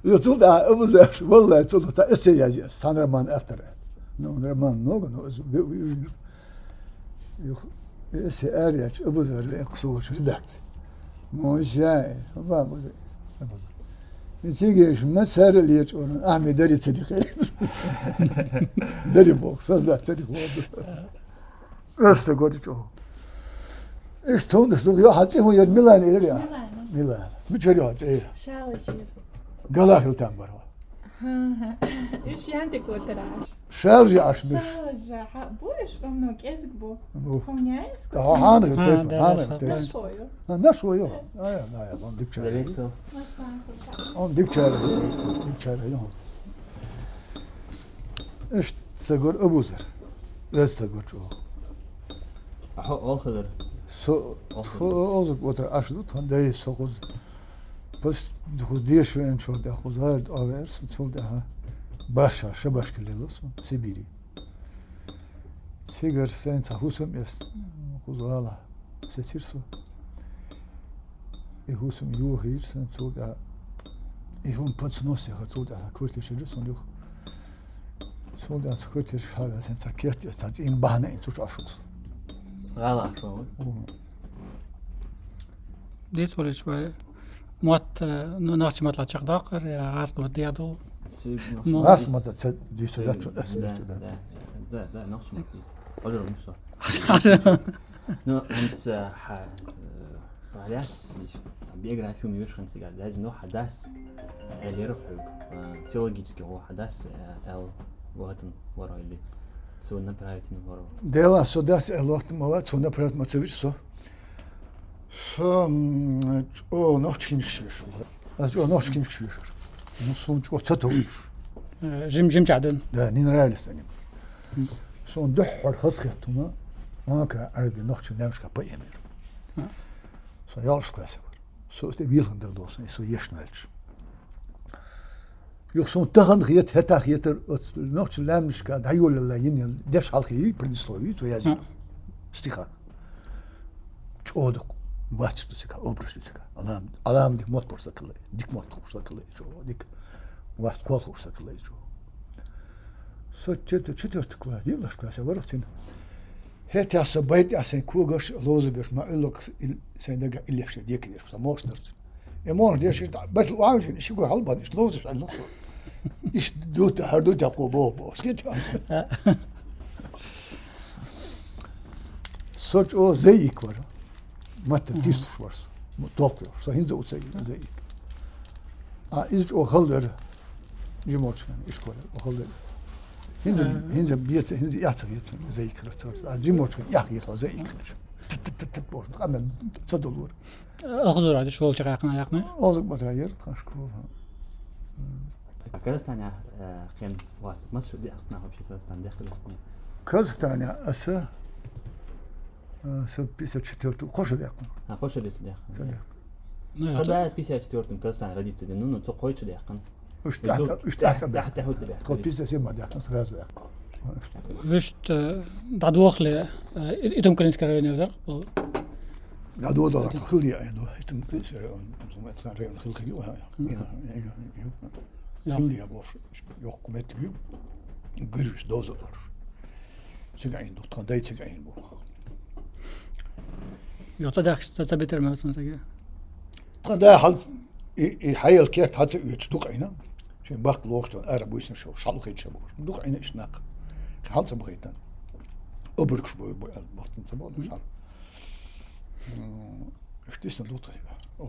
يطول أبو زهر والله يطول تا إسياجي سانرمان أفتر نرمان نوغ نوز إسي أريج أبو زهر يقصور شدكت مو جاي ما أبو زهر يسيجيش ما سهر اللي يجون أحمي داري صديقي داري فوق صدق صديق فوق أستقول جو إيش تون إيش يا حتى هو يد ميلان إيريا ميلان متشري حتى شالجير قلاخ التامبر إيش عندك وتراش شارجي عشبش شالجا بوش بمنوك إزق بو هم يعيسك هانك نشويو نشويو لا on dikçare on dikçare yok İşte segur abuzer segur çok Al kadar. Ozuk otur aşıdı tanday sokuz bas diye şu en çok da kuzar aver çok daha başa şabaşkelelos Sibiri Sigar sen tahusum jest kuzala seçirso husum yuhir sen çok da ihun patsnos ya çok da kurtişir son yok son da kurtişir hala sen takert ya tat in bahane in tuş aşık غلط شو دي سوري شوي موت ناخذ ما طلعت داقر يا غاسق بديادو غاس ما دي سودات لا ناخذ ما كيس رجل مش نو انت عليات بيقرا فيهم يوش خمسة قال لازم نوع حدث اللي يروح فيولوجيسكي هو حدث ال وقتن ورا اللي سو نبرايتين ورا ديلا سو داس الوقت موات سو نبرات ماتسويش سو او نوچكين شوش از او نوچكين شوش نصون جو تتويش جيم جعدن ده نين رالستاني سون دحر خسختنا هاكا عربي نوچ نمش كبا يمير سو يالش كاسه سو است بيلن ده دوس سو يشنالش Yok son tahan heta yeter noch lamnisch ka dayol la yin desh halqi predislovi to yazi stiha çoğdu vaçtu sika obruştu sika alam dik mot porsaklı dik mot porsaklı dik vast kol porsaklı so çetörtük var yıllar klasa var için heta sabayt asen kugaş lozubеш ma ellok sen daga illeşe diye kidir samoşnır emon diye şey bas avcın işi go halban iş lozış Allah İş dut hardu takobo boş git. Soç o zeyik var. Matta tistuş var. Topluyor. So hinze utsay zeyik. İz o halder cimoçkan iş koyar. O halder. Hinze biyet hinze yatsa yet zeyik ratsa. Cimoçkan yak yet o zeyik. Tıt boş. Ama tsadolur. اخذوا هذا شغل شقاقنا يقنا Ozuk matrayer kaşku. كرستانيا كان وات مصر دي أقنعه بشي كرستان داخل Kaztane asa سبيسة четвертую خوش ديقن. خوش ليس داخل. صدق. خدا بيسة четвертую كرستان رديت سدي نونو تقوي شو داخل. إيش تحت هو تداخل. كل بيسة سيما ديقن سرازو ديقن. وشت بعد وقت إدهم كنيس كراين يقدر. دادو دادو خلي عنده يتم كسر ثم تنرى الخلق يوها. خلي أبوش يحكم تبيو. Gürüş dozalar. Çıkayın tutan da çıkayın bu. Yoksa da tabitir mi olsun sege? Da hal hayal kert hat üç duk ayna. Şimdi bak loğuştan ara bu işin şu şalık hiç bu. Duk ayna işnak. Halt sa bıgıtan. Öbürküş bu baktın tamam mı şal. İşte sen lotu ya.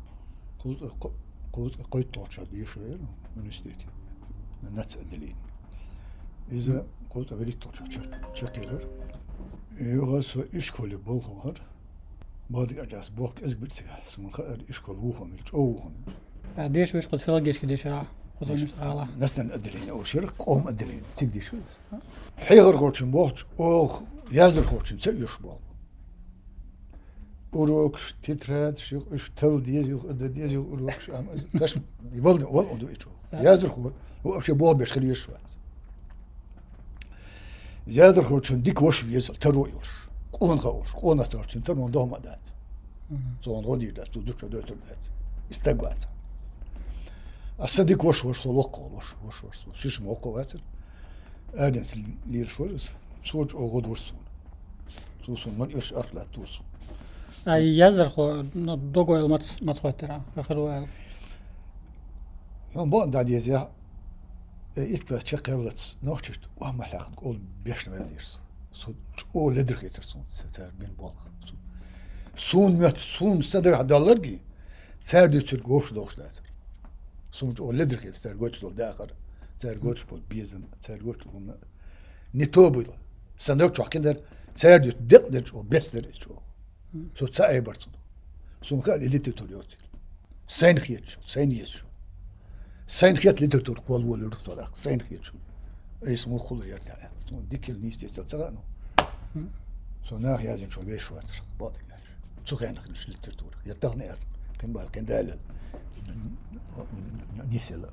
Koyut torça diye şöyle üniversite. Nats edilin. İze koyut verik torça çekilir. Yoğası işkoli bol var. بعد أجلس بوك أزبط سمن خير إشكال وهم يجوهم. ديش ويش قد فلقيش كده شراع قصدي مش على. نستن أدلين أو شرق قوم أدلين تقدي شو. حيغر قرشم بوك أو يازر قرشم تيجيش بوك. أوروكش تتراد شو إيش تل ديز يخ أد ديز يخ أوروكش أم كاش يبلد ولا أدو إيشو. يازر خو هو أشي بوك بيشخلي يشوات. يازر قرشم ديك وش يزل ترويش. قون خورش قون أترشن ترون دوما دات زون غدير دات تودك دات دات استقبات الصديق وش وش شيش موقع واتر آدنس لير شورس سوج أو غد ورسون سوسون من إيش أرلا تورسون يزر خو دوغو ما تخوترا آخر هم بعد داديزيا إتلا تشقلت نوشت وهم حلاقن قول بيشنا ماليرس سو أو لدرك يترسون ستار بين بالغ سون مت سون صدق دولارجي سار ديتر غوش دوش داتر سون أو لدرك يتر غوش دول داخر سار غوش بول بيزن سار غوش بول نيتوبل صندوق شو كندر سار ديت دقدر أو بيستر شو سو تساعي برضو سون قال اللي تطلعت سين خيت شو سين يشو سين خيت اللي تطلع قول ولا تطلع سين خيت شو اسمه خلو يرتاح سون ديك النيست يستلزقنا سو ناخ يازن شو بيش واتر باطل شو كان خلش للترتور يرتاحنا يازن كان بال كان دال نيسلا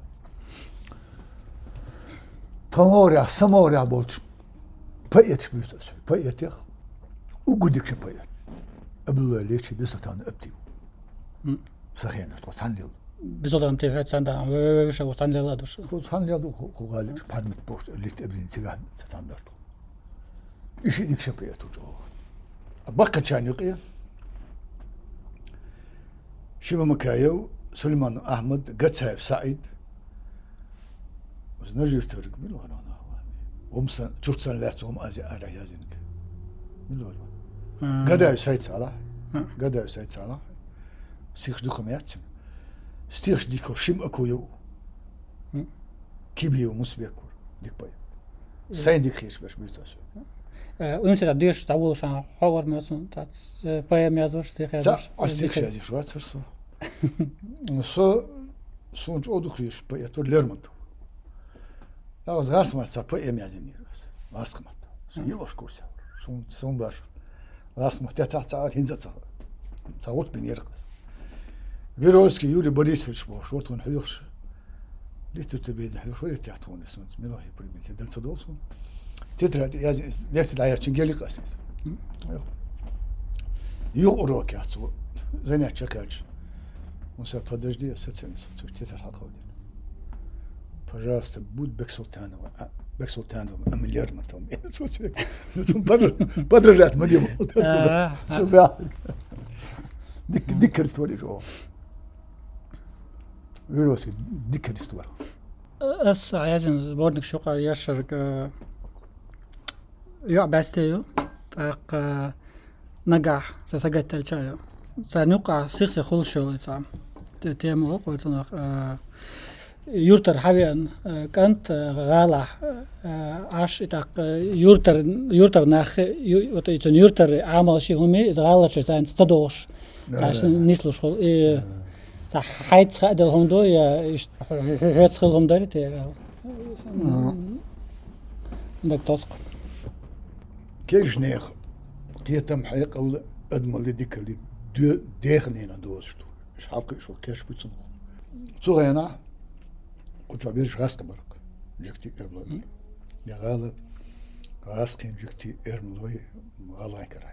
تموريا سموريا بولش بايت بيوتس بايت يخ وقدك بايت قبل ليش بيستان ابتي سخينا توتانليل بزودم تفات ساندا وش وتانليل ادوش توتانليل خو غالب بارمت بوست اللي تبين سيغان ستاندرد ايش ديك شبيتو جو بقى كان يقيا شيما مكايو سليمان احمد قتسايف سعيد وزنجر ترك ملو انا ومسن تشوتسن لاتهم ازي ارا يازنك ملو قداي سيد صلاح قداي سيد صلاح سيخ دوخميات ستيخ ديكو شيم اكويو كيبيو مسبيكور ديك باي سين ديك خيش باش بيتاس ونسيت ديش تعول شان حوار مثلا تاع باي ميازور ستيخ يازور استيخ شادي شو تصرف سو جو خيش باي تو ليرمنتو از غاس ما تصا باي ميازينير بس غاس ما يلوش كورس سون باش غاس ما تاع هندتا تعوت بين يرقص فيروسكي يوري بوريسوفيتش باش ورتون حيوش ليتو تبيد حيوش ولا تحتون سنت ميلوهي بريميت دكتور دوسون تترى يا ليش داير تنقلي قاسس يقروك يا تو زين تشكاج وسا подожди сетсенс تتر حقودي пожалуйста будь Бексултанова миллиард матом подражать мне ديك الستوري جو فيروسي ديك الستوري اس عايزين بورنك شقا يشرك يو باستيو تاق نجح سجت الشاي سنوقع سيخ خلشوا تاع تيمو قلتنا يورتر حاليا كانت غالح عاش تاق يورتر ناخ يورتر عمل شيء همي غالش تاع تدوش عشان نسلوش تاع حيت خدهم دو يا هيت خلهم دارت دك تسق كيش نيخ قيتم حيقل ادمل ديك اللي ديخنينا دوستو اش حقي شو كاش بيتصن صغينا كنت عبيرش غاسك برك جكتي ارملوي يا غالب غاسكين جكتي ارملوي غالا كراير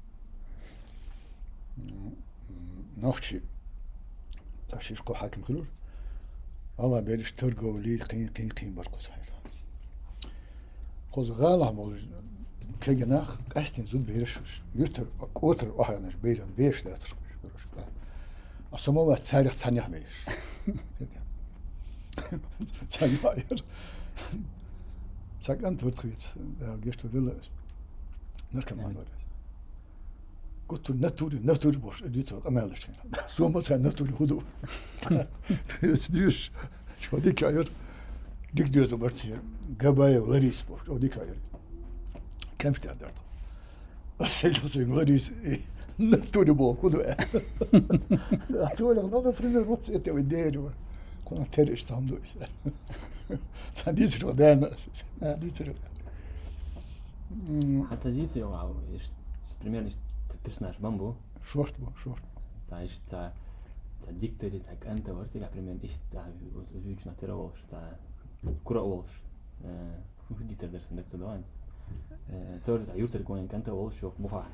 نوختي تاشيش كو حاكم خلول الله بيرش ترقو لي قين بركو صحيح خوز غالا مول كجناخ قاستين زود بيرش يوتر قوتر واحد بيرن بيش لا ترش أصلا تاريخ ثانية بيش ثانية ساق أنت وتخيت جيشت ولا نركب مع الولد قلت ناتوري بوش اديتور امالش سو ما كان ناتوري هدوء يسديش شو ديك عير ديك ديوتو برتير قبايا ولريس بوش او ديك عير كم تقدر شو ولريس ناتوري بو هدوء اعطوا لك نظر فريم الروتس انت ودير كنا تريش تعملوا ساديس رودانا ديس حتى ديس يو примерно персонаж Бамбу. Шорт. Та иш та диктори так анта варсига примерно иш та уж на теролш та кураолш. Дитер дерсен так задаванс. Тоже за ютер коин канта олш шо муфа.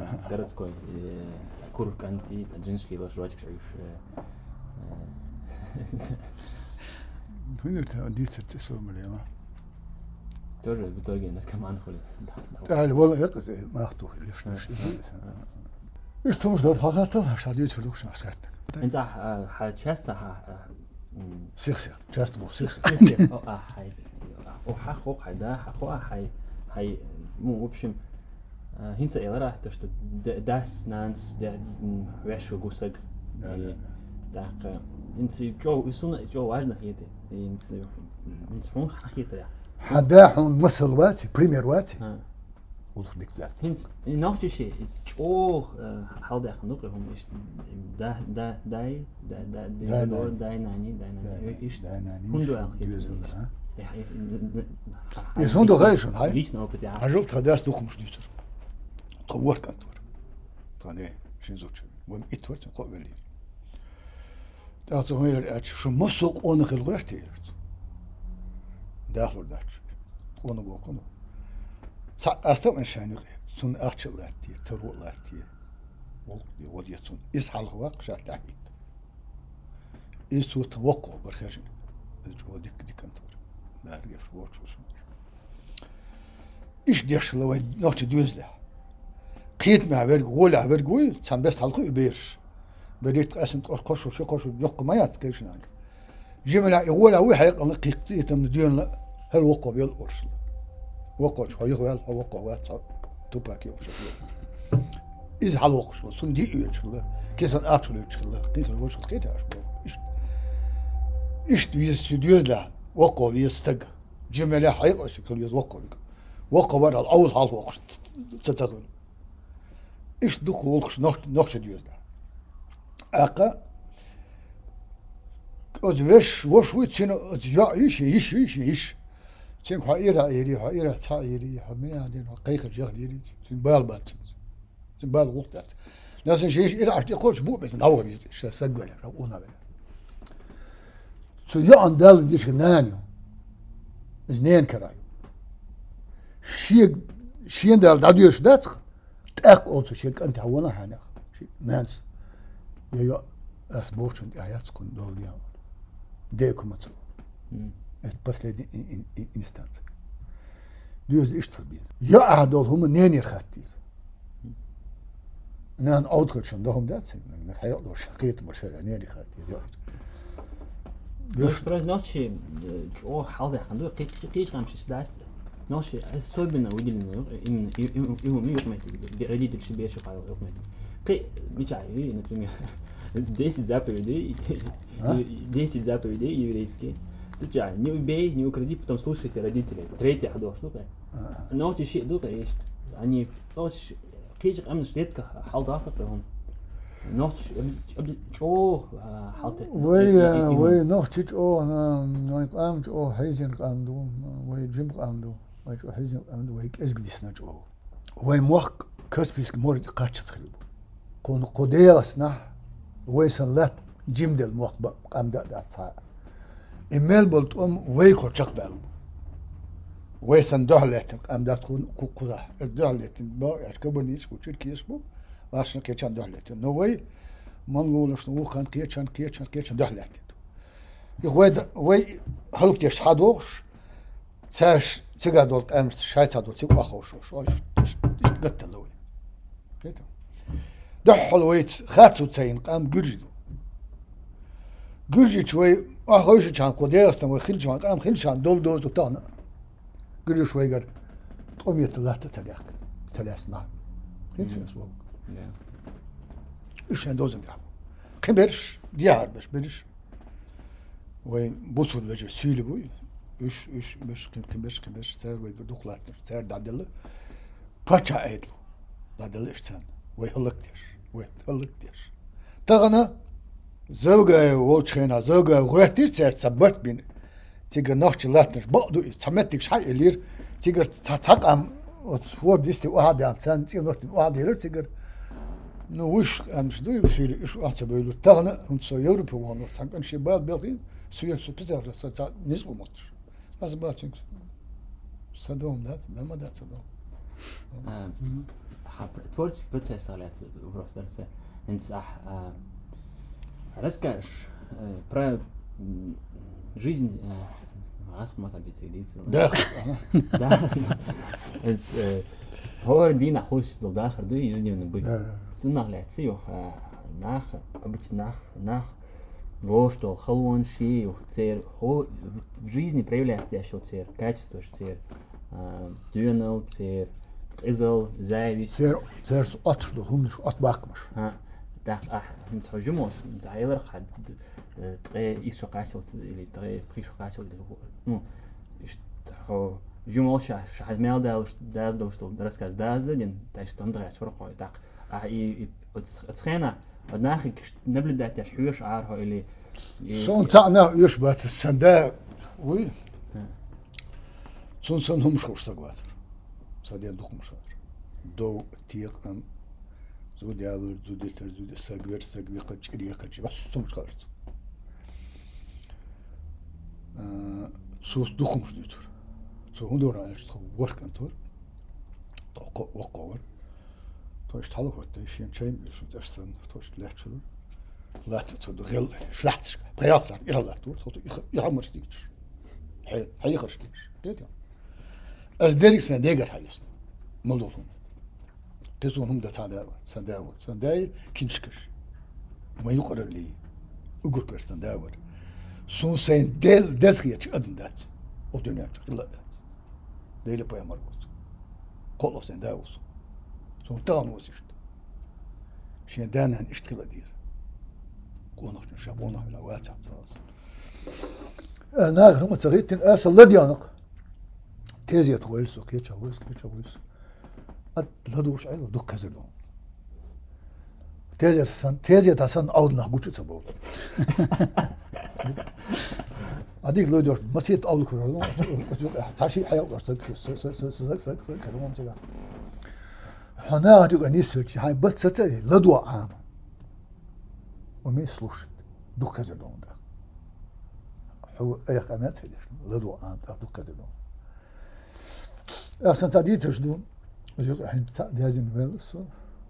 городской кур канти та джиншки ваш рочк шуш. هنا دي تسوي مليما тоже в итоге наркоман ходит. تعال والله يقص ما أخطوه ليش إيش تمش دور فقط هش هديت في الوقت شخصيات انت часто سيخ جاست مو سيخ هاي وحقوق هيدا حقوق هاي مو в общем هنسا إلى то что das nans der вешо гусаг так инси جو يسون جو важно هيدا инси инсون حقيقة حداحون مثل واتي بريمير واتي وضح ديك ذات هنس noch شيء جو حال خنوق هم إيش داي ناني إيش هندو الخير يسون دو غايشون هاي ليش نو بتاع عجلت خداش دوخ مش ديتر طور كانتور طاني شين زوج وين اتور تقول لي تعطوا هير اتش شو مسوق اون خلغرتي داخل داش اون بوكونو استم انشاني سون اخشلاتي ترولاتي وديتون اسحل غواق شاك تحت اسو توقع برخجن جو ديك كانتور دار يف واتش إيش ديش لو نوتش دوزله قيت مع برج غولا برجوي تام بس حلقو يبيرش بريت قاسم قرقش وشو قرش يق ما يتكيش نان جملا يقولا وي حيق قيقتي تم ديون هل وقو بيل قرش وقوش هو يغوال هو وقو وات توباكي وش إذا حلوقش سن دي يوتش كيسن أكل يوتش قيت الوش قيت إيش دوزله وقو بيستق جملا حيق شكل يوقو وقوار الأول حال وقت تتغل إيش دخولش نقش ديوزنا أقا أزوش وشوي تين يا إيش تين حائرة تائري حمية عندنا قيق جهلي تين بالبات تين بالغلطات لازم شيء إلى عشان يخش بو بس نعور بيز شو سجل رأونا بنا شو يا عندال ديش نانيو إزنين كراي شيء دال داديوش داتخ تاق أوتو شيء أنت هونا حناخ شيء نانس يا أسبوعشون آيات كون دول يا ديكم ماتو بس لدي إنستانس ديوز إيش تربيز يا أهدول هم نينير خاتيز نان أوتخشون دهم داتسين نحيا دور شقيت مرشا نيني خاتيز يا Još prez noći halde handu qeeq qamshi sdaat noći soybina udilna imam yuqmati radit shbiya shaqay yuqmati qi мечаю например 10 заповедей еврейские сначала не убей не укради потом слушайся родителей третья штука ночи ши дука есть они ночь qeeq qamsh редко halda afaqhum نوتش جو حاطط وي نوتش جو نوي قام جو هيزن قامدو وي جيم قامدو وي جو هيزن قامدو وي ازغديس نجو وي موق كسبيسك مور قاتش تخلو كون قديرسنا وي سنلات جيم دل موق قامدا داتسا ايميل بولت وي كوچق بال وي سن دهلت قامدا تكون كوكوزا دهلت با اشكبنيش كوچيركيش بو واشن كيتشان دهلت نووي منقول شنو خان كيتشان دهلت وي هلك يشحدوش تاش تقعدوا امس شايتادو تيق واخوش واش قتلوي كيتو دحل ويت خاتو تاين قام جرجي شوي اخوش كان كوديستن وخلج قام خلشان دول دوز تانا جرجي شوي قال قوميت الله تتلاق تلاسنا كيتش اسوق إيش هندوزن ده كبرش ديار بش وين بوصل وجه سيل بوي إيش بش كبرش سير ويدخلات سير دعدله باتشا عيدلو دعدله إيش سان ويهلكتيش تغنى زوجة وشينا زوجة غيرتيش سير سبت بين تيجر نخش لاتنش بعدو تمتك شيء اللير تيجر تتقام وتصور ديستي واحد يعني سان تيجر نخش واحد يلير تيجر نوش أمس دو يصير إيش أعتبره تغنى أنت يوروبا وانو تانكن شيء بعد بيقين سويا سبزار سات نسبة ماتش هذا باتشينك صدقهم ده ما ده صدقهم تفورتش بتسأل على وبروس درسه إنت صح رزقش برا жизнь عاصمة ما تبي تسيدي داخل هو دينا خوش دو داخل دو يجني ونبي سنة لاتسيو ناخ обычно нах ложь то халвон ши цер в жизни проявляется еще цер качество цер дюнел цер изол зависть цер отшло хумниш отбакмаш так انت حجموش انت عيلر حد تغي يسو قاتل اللي تغي بريشو قاتل ну что جموش حد مال داز دوستو درسكاز داز دين تاش تندرش فرقو так и اتخينا ودناخك نبلدات يشحوش عارها اللي شون تاعنا يشبه السنداء وي سون هم شوش سقواتر صديق دخم شاطر دو تيق ام زو ديالر زو ديتر زو سقوير سقوي قجري قجري بس سمش خارج سوس دخم شديتر سو هندور عايش تخو ورك انتور توقع وقور توش تحلو هوت شين شيء شو تشتن توش لاتشلو لاتشلو دو غيل شلاتش بياصر إلى لاتور توش يعمر شديش هي خرج شديش كده از ديريك سنة ديجر حيس ملوطهم تزونهم ده سنداوي كينشكش ما يقرر لي أقول كرستنداور سون سين دزخيتش أدم دات ودنيا إلا دات ديلي باي مربوط كله سنداوس سون تان وزشت شين دانا اشتغل دير كونك نشابونا على واتساب تراس أنا غير متغيتين أصل لا ديانق تيزي تويلسو كيتشا ويلس لدوش عيلو دوك كزلو تيزي تاسان أودنا غوتشو تبو أديك لو دوش مسيت أول كرو تاشي حياة سك كلام تجا هنا هدوك أنيسلش هاي بتستري لدو عام ومي سلوش دوك كزلو ده هو أي قناة هيدش لدو عام دوك كزلو أحسن تعديتش دون ويقول الحين دازين فيلسو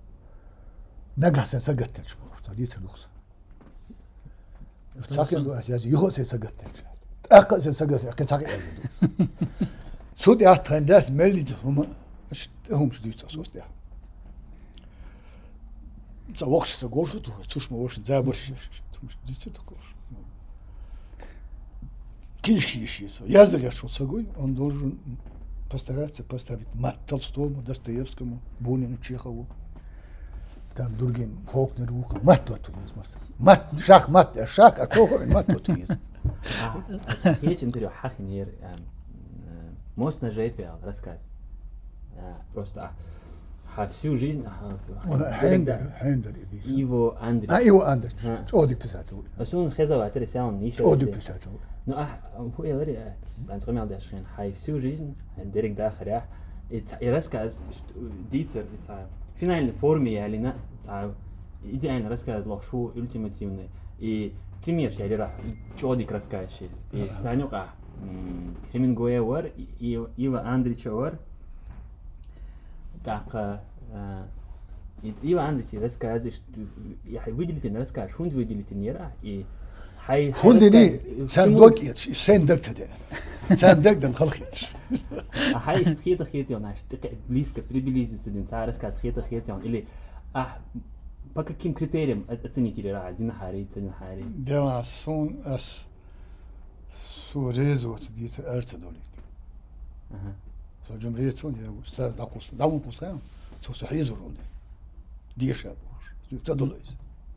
نجح سجتش تعديت اللغة ساكن دو أساسي يخو سجتش أقل سجتش كن ساكن أزيد سود أحد داس مليت هم شديد أسوس ده سوقش سقوش تو تشوش موش زابرش مش ديت تقوش كيش يازدك شو سقوي он должен постараться поставить мат Толстому, Достоевскому, Бунину, Чехову, там другим Фолкнеру, мат тут есть. Мат, шах, а Чехов, мат тут есть. Есть интервью Хахинер, мост на Жейпиал, рассказ. Просто всю жизнь... Хендер. Иво Андрей. Иво Андрей. Одик писатель. Асун Хезава, это сял ниша. Одик писатель. Ну, هو يقدر أنصغمي على عشرين هاي всю жизнь ديرك داخل يا рассказ ديتر فينال форме или на идеально рассказ лошу ультимативный и пример я лера чёдик рассказчик и занюка Хемингуэй вар и Ива Андрич вар так Ива Андрич рассказывает я выделить на рассказ хунд выделить нера и خندني صندوق يتش صندوق تدين صندوق دن خلقيتش هاي خيط يون اشتق близко приблизиться дин царская خيط يون или по каким критериям оценить или один хари да сон ас сурезо дит арцедолит со جمهورية я сразу дакус пускаем со сахизурон дишаб تدلس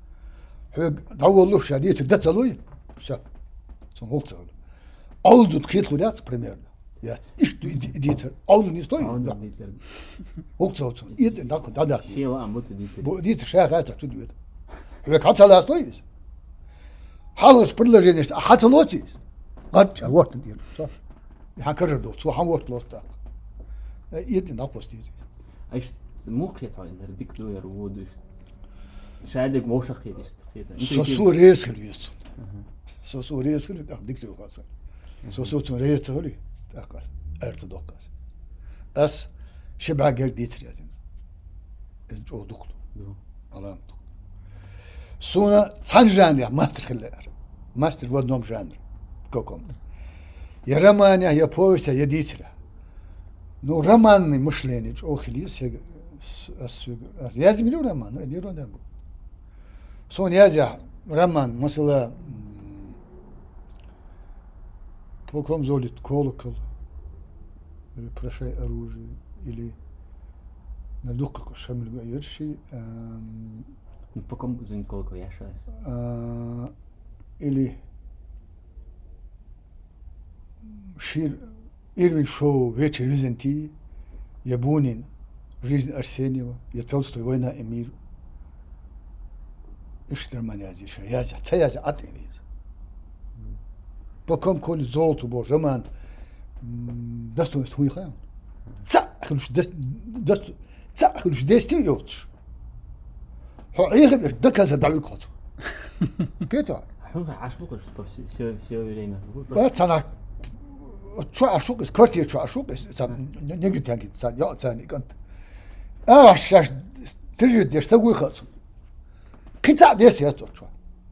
دعوة شديد ده تلوي شاب صنوق تلو أول زود خيط خدات بريميرنا يا إيش ديتر أول نيستوي وقت صوت إيد داك داك شيء لا أمبوت ديتر شاغات تدوي هو كاتس على أصلي حالس برلا جنست حتى لوتيس قد وقت دير صح يحكر دو صح وقت لوتا إيد ناقص ديتر إيش موقيت هاي ديك دو يرود شادك موشق يدست سو ريس خليست سو ريس خلي ديك دو قاس سو ريس خلي تاقاس ارتدوقاس اس شبع غير ديتر يعني جو دخلو علام سونا تسانجان يا ما تخلر Мастер в одном жанре каком-то. Я роман, я повесть, я дитя. Ну, романный мышление, охилис, я землю роман, я беру да. Сон я роман, mesela Толком золит колокол, или прошай оружие, или на дух как шамиль гаерши, Поком золит колокол я шас. или шир Ирвин Шоу «Вечер Византии», я Бунин «Жизнь Арсеньева», я Толстой «Война и мир». Ишь романязи, шаязя, цаязя, атенез. Поком коли золоту боже, роман, достоинство хуйха. Цахлюш дести йотш. Хоихе доказа далекот. Кето. Ашбук все время. Цана Чуашук, квартира Чуашук, не гитанги, я цани кант. Шаш, ты же дешь сагуй хацу. Кита дес я точно.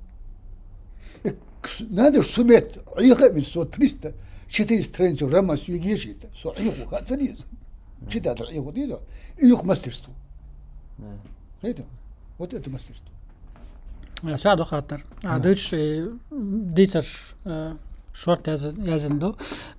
Надо суметь, их без 300, 4 страницы роман сюгешит, со их хацализ. Читать их дизо, их мастерство. Это, вот это мастерство. ساعدوا خاطر عادوش ديتر شورت يازندو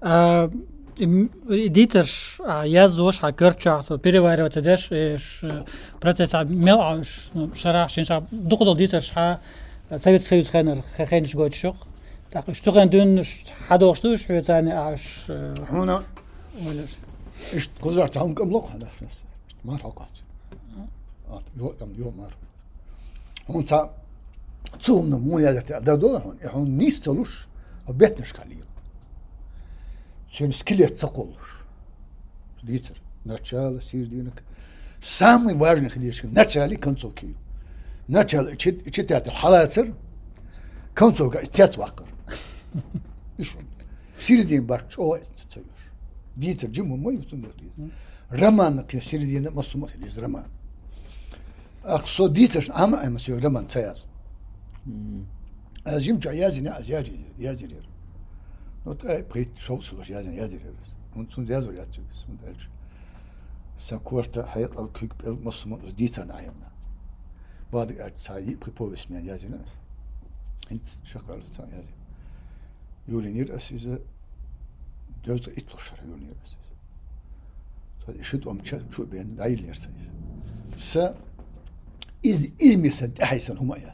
ديتر يازوش هكرتشا تو بيريوار وتدش процесс ملعش شرع شنشا دقدو ديتر ها سويت سويت خانر خاينش قوت شوق تاق اشتغل دون حدوشتوش ثاني عش هنا ولاش ايش قدرت عم قبلق هذا ما فقط يوم مار هون صار цумно моя да он нистолуш обетнеш калил чем скелет цоколуш литер начало середина самый важный хлещ начало концовки начало читать халатер концовка тяцвакр ишо середин барчо цоюш литер жимо мой утундо роман к середина масумат из роман ах со литер ама эмсио роман цаяз Azim yazın yazır. Not prit şovsulur yazır. Und yazır yazıyoruz. Und elç. Sakurta hayat al kük el masum ditan ayımna. Badı ertsayı pripovismen yazınız. Hiç şakalı tan yazır. Yolinir asize dözde itloşar yolinir asize. So eşit omça şu ben dayılırsanız. Sa izmised ahsan humayat.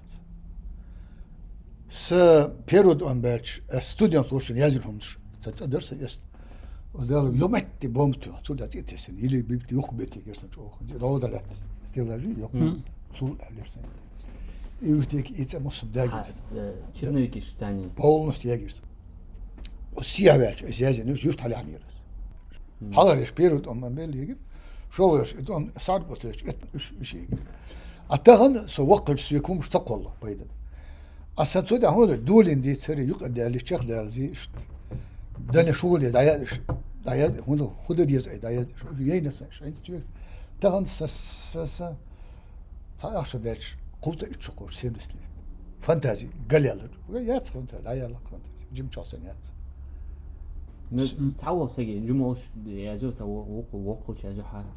С период он бач студент слушал языкомш цацадерса есть одал ёматти бомту отсюда тетесен или бибти юхбети герсэн чох роодала стелажи ёк сул алерсэн и үтек ица мосом дагис Черновики штани полностью ягис осиявач язын жуст халянирс халариш период он мелиги шолош он сарботеш иши атаган со вакт сүйкум штаколла байда أصلاً ده هو دولين دي تري يقعد على الشيخ ده زيش ده نشغل ده هو خد دي زي ده يينس شيء تيجي تاخد سس تعرف شو ده قوة الشكور سيرسلي فانتازي قال يلا يات فانتازي ده يلا فانتازي جيم شاسن يات تعول سجى جموش يازو تعول وقل شيء جحا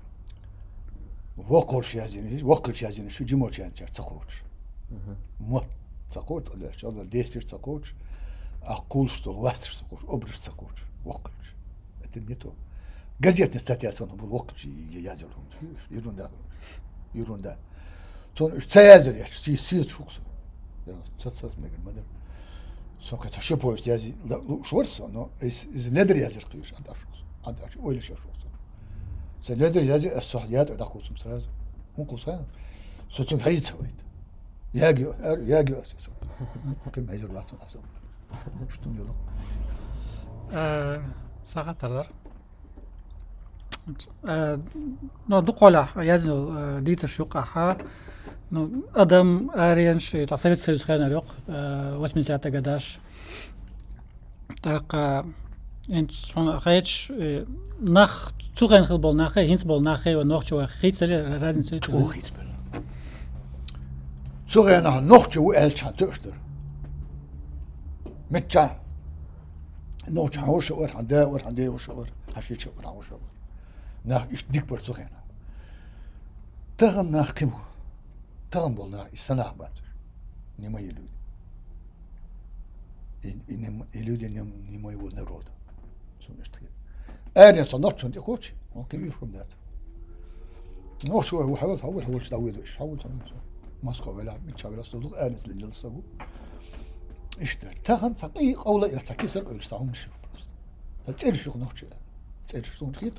وقل شيء شو جموش يعني تقولش موت цакоч, Allah действуешь цакоч, а кул что, ластишь цакоч, обрешь цакоч, вокач. Это не то. Газетная статья сон был вокач и ядер. Ерунда. Сон цаязер я, сид шукс. Я цацас мегер мадер. Сон как что повесть язи, шворс, но из ледер язер туешь, андаш, ойле шукс. С ледер язи الصحيات ده قوسم сразу. Он кусает. Соцун хайц будет. Ягио асесо. Кем айзер латон асо. Что не ло? сағаттардар но дұқола язу дитер шуқаха но адам аренш Совет Союз хана жоқ 80-те гадаш так انت خيش نخ توغن خلبول نخ هينس بول نخ و نخ شو خيتسل رادن سوت تو خيتسل توغن نخ نخ شو الشان تشتر متشا نوش هوش اور هندا اور هندا وش اور هشيش اور وش اور ناخ إيش ديك برتوخينا تغم ناخ كمو تغم بولنا السنة بعد نما يلود إن يلود نما يقول نرود شو نشتغل أنا صنعت شو تقولش ممكن يفهم ذات نوش هو حاول تداويش حاول ماسكو ولا متشابه صدق أنس اللي جلسوا إشتر تاخن تقي قولا يتكسر ويستعمل شو تتعرف نوش تعرف شو نخيط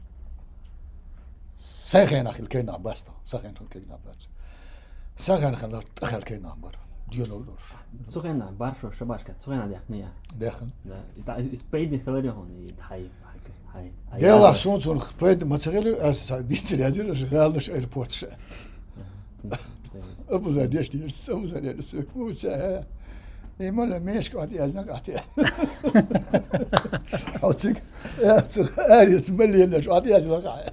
ساخن أخي الكينا باستا ساخن الكينا باست ساخن خلنا أخي الكينا بار ديالولوش سخنا بارشو شباشك سخنا ديحنيا داخل لا إسبايد خلاري هون يتحي هاي ديلا سون خبيد ما تغير أساس ديت الهزير شغالش إيربورت شا أبو زاديش ديرس أبو زاديش موسى إيه ماله ماشي قاعد يازنق قاعد حوتك أريد ملي اللي قاعد يازنق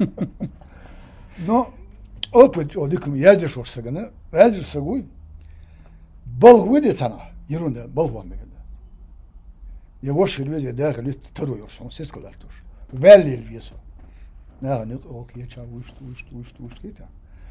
نو أوبت أوديكم يازر شو سجنا يازر سجوي بلغودي تنا يرون بلغوا مكان يوش الوجه داخل يترو يرشون سيسكلارتوش فالي الفيسو نعم أوكي يتشا وش كده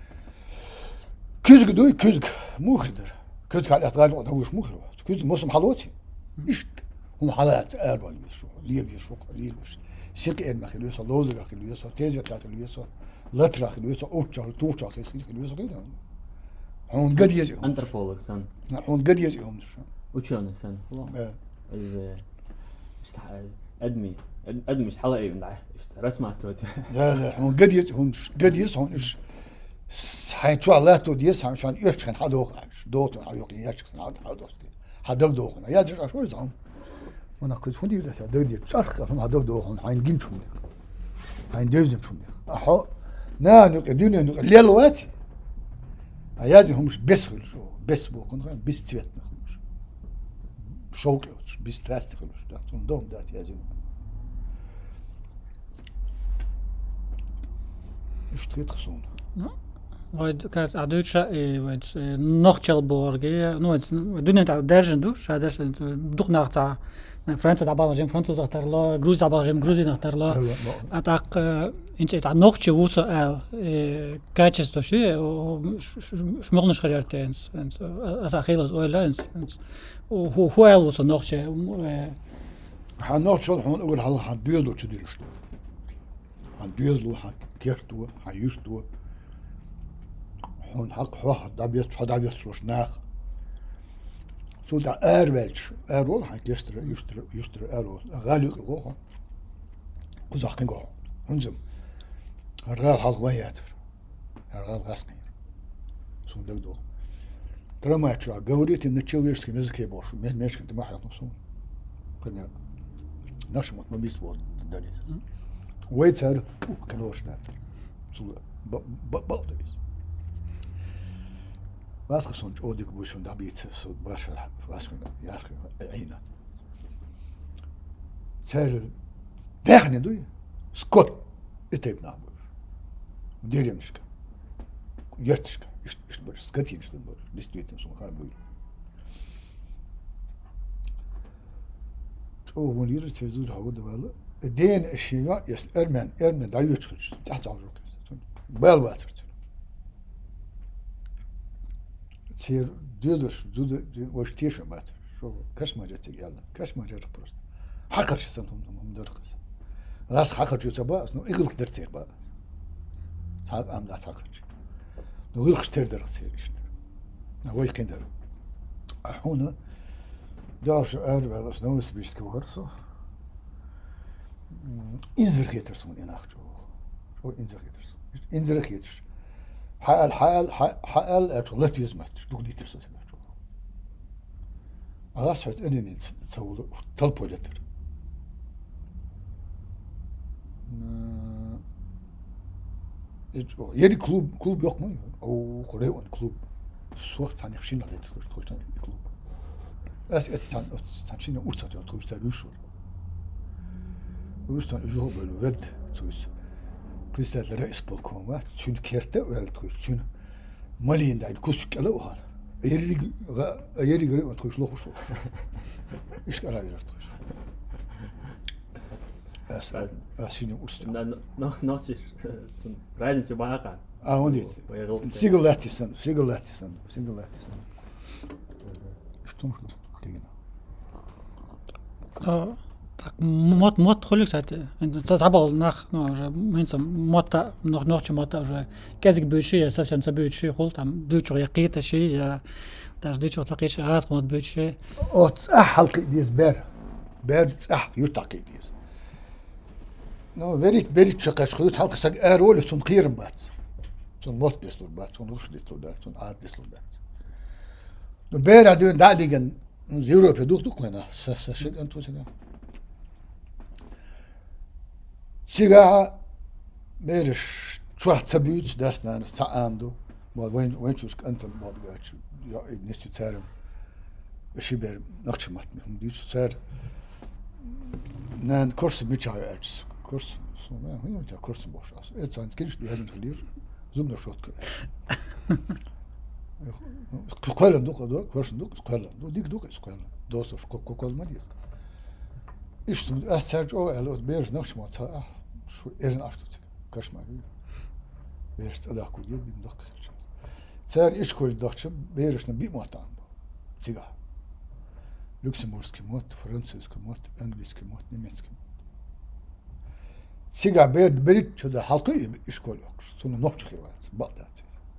كزق دوي كزق مخدر كزق على الأطغال وش مخدر كزق موسم حلوتي إيش هم حالات أربع يسوع ليل يسوع ليل وش شرك إن مخلو يسوع لوزق مخلو يسوع تيجي مخلو يسوع لتر مخلو يسوع أوتشار توتشار مخلو يسوع كده هون قد يجيهم أنتربولك سن هون قد يجيهم وشون سن والله إذا أدمي مش حلقة من ده رسمة توت لا هون قد يجيهم إيش حين شو الله توديس عشان يشكن حدوق دوت حيوق يشكن حدوق حدوق دوقنا يا جرا شو يزعم وانا كنت فندي ذا دودي شرخ هم حدوق دوقنا حين جين شو حين دوزن شو احو نانو الدنيا الليل واتي ايازهم مش بس شو بس بو كون بس تيتنا خلوش شوق بس تراست خلوش ده دوم دات يازم ايش تخصون وید کات عدوش وید نخچل بورگی نوید دنیا تا درجن دوش هداش دوخ نختا فرانسا دابا جیم فرانسا زاتر لا گروز دابا جیم گروزی نختر لا اتاق انت تا نخچ ووس ال کاتش توشی شمغنش خیرتنس از اخیلس اویلنس هو ال ووس نخچ هنخچل هون اول حال حديدو تديرش حديدو حق كيرتو حيشتو هون حق واحد دابيت شوش ناخ سو دا أرولش أرول حق يشتري أرول غالي قوه قزاقين قوه هنزم الرجال حق وياتر الرجال غاسقين سو دك دو ترى ما يشرع قوريت إن تشيل يشتري مزكي بوش مش كنت ما حيط نصون كنا نشمت ما بيسبور دنيس ويتر كنوش ناتر سو بقدريس واسخ سونج اوديك بوشون دابيت سو باشر واسخ يا اخي عينا تال داخني دوي سكوت اتيب نابوش ديري مشكا يرتشكا ايش بر سكتي مش تنبر ديستويتم سو خابوي او مولير تزور هاود ولا دين اشياء يس ارمن دايوتش تحت عمرك بالواتر تير دودش وش تيشو مات شو كاش ما جت يلا كاش ما جت بروست حقر شو سنتهم درقس راس حقر جو تبا نو يغل كدر تير با صاحب ام لا حقر نو يغل كتير درقس يشت نو يكين در هنا داش ار بس نو سبيست كورسو انزر كيترسون يناخجو شو انزر كيترسون انزر كيترس حال أتولف يزمت دولي ترسل سمعتوا أغاس حيت أنني تصور طلبوا لتر يدي كلوب يوق ما أو خريون كلوب سوق ثاني خشين على تخش ثاني كلوب أس ثاني أوتصل يا تخش تلوشور ورستان يجوب الود تويس بريستات الرئيس بالكوما تشون كيرتا ولا تخش تشون مالين دايل كوسك لا وهذا Ayeri göre on toyş lokuş olur. İş karar verir toyş. Şimdi usta. Noch ist reisen zu Bayern. Und jetzt. Single Lattison. Stimmt schon. Так, мод хулик, кстати. Это забыл уже, мота, ночью мота уже. Кезик бывший, совсем бывший хул, там дучу якита ши, я даже дучу такиш раз мод бывший. تصح ديز بير تصح يرتقي ديز. نو بريت شقاش خيوت حلقة سق أرول سون قيرم بات. سون موت بيسلو بات، سون رشد بيسلو بات، سون عاد بيسلو بات. نو بير عدون دعليجن زيرو في دوق هنا. شيء أنتو شيء. شيء بيرش شو تبيوت داسنا نستعمدو. ما وين شوش أنت ما تقولش يا نستو تارم. شبير نقش ماتم ديش صار نان كورس ميتشاي اتش كورس سونا هنا تا كورس boş as et san geliş diyelim gelir zumda şot kö قال دوق كورس دوق قال ديك دوق قال دوس كوكوز ما ديس ايش استرج او ال بيرج نقش ما تا شو ايرن اشتut كاش ما بيرج تدا كو دي دوق صار ايش كل دوقش بيرجنا بي ما تام تيغا Люксембургский мод, французский мод, английский мод, немецкий мод. Сега берет сюда halkı işkol yok. Sonra nok çıkıyorlar. Bağdat.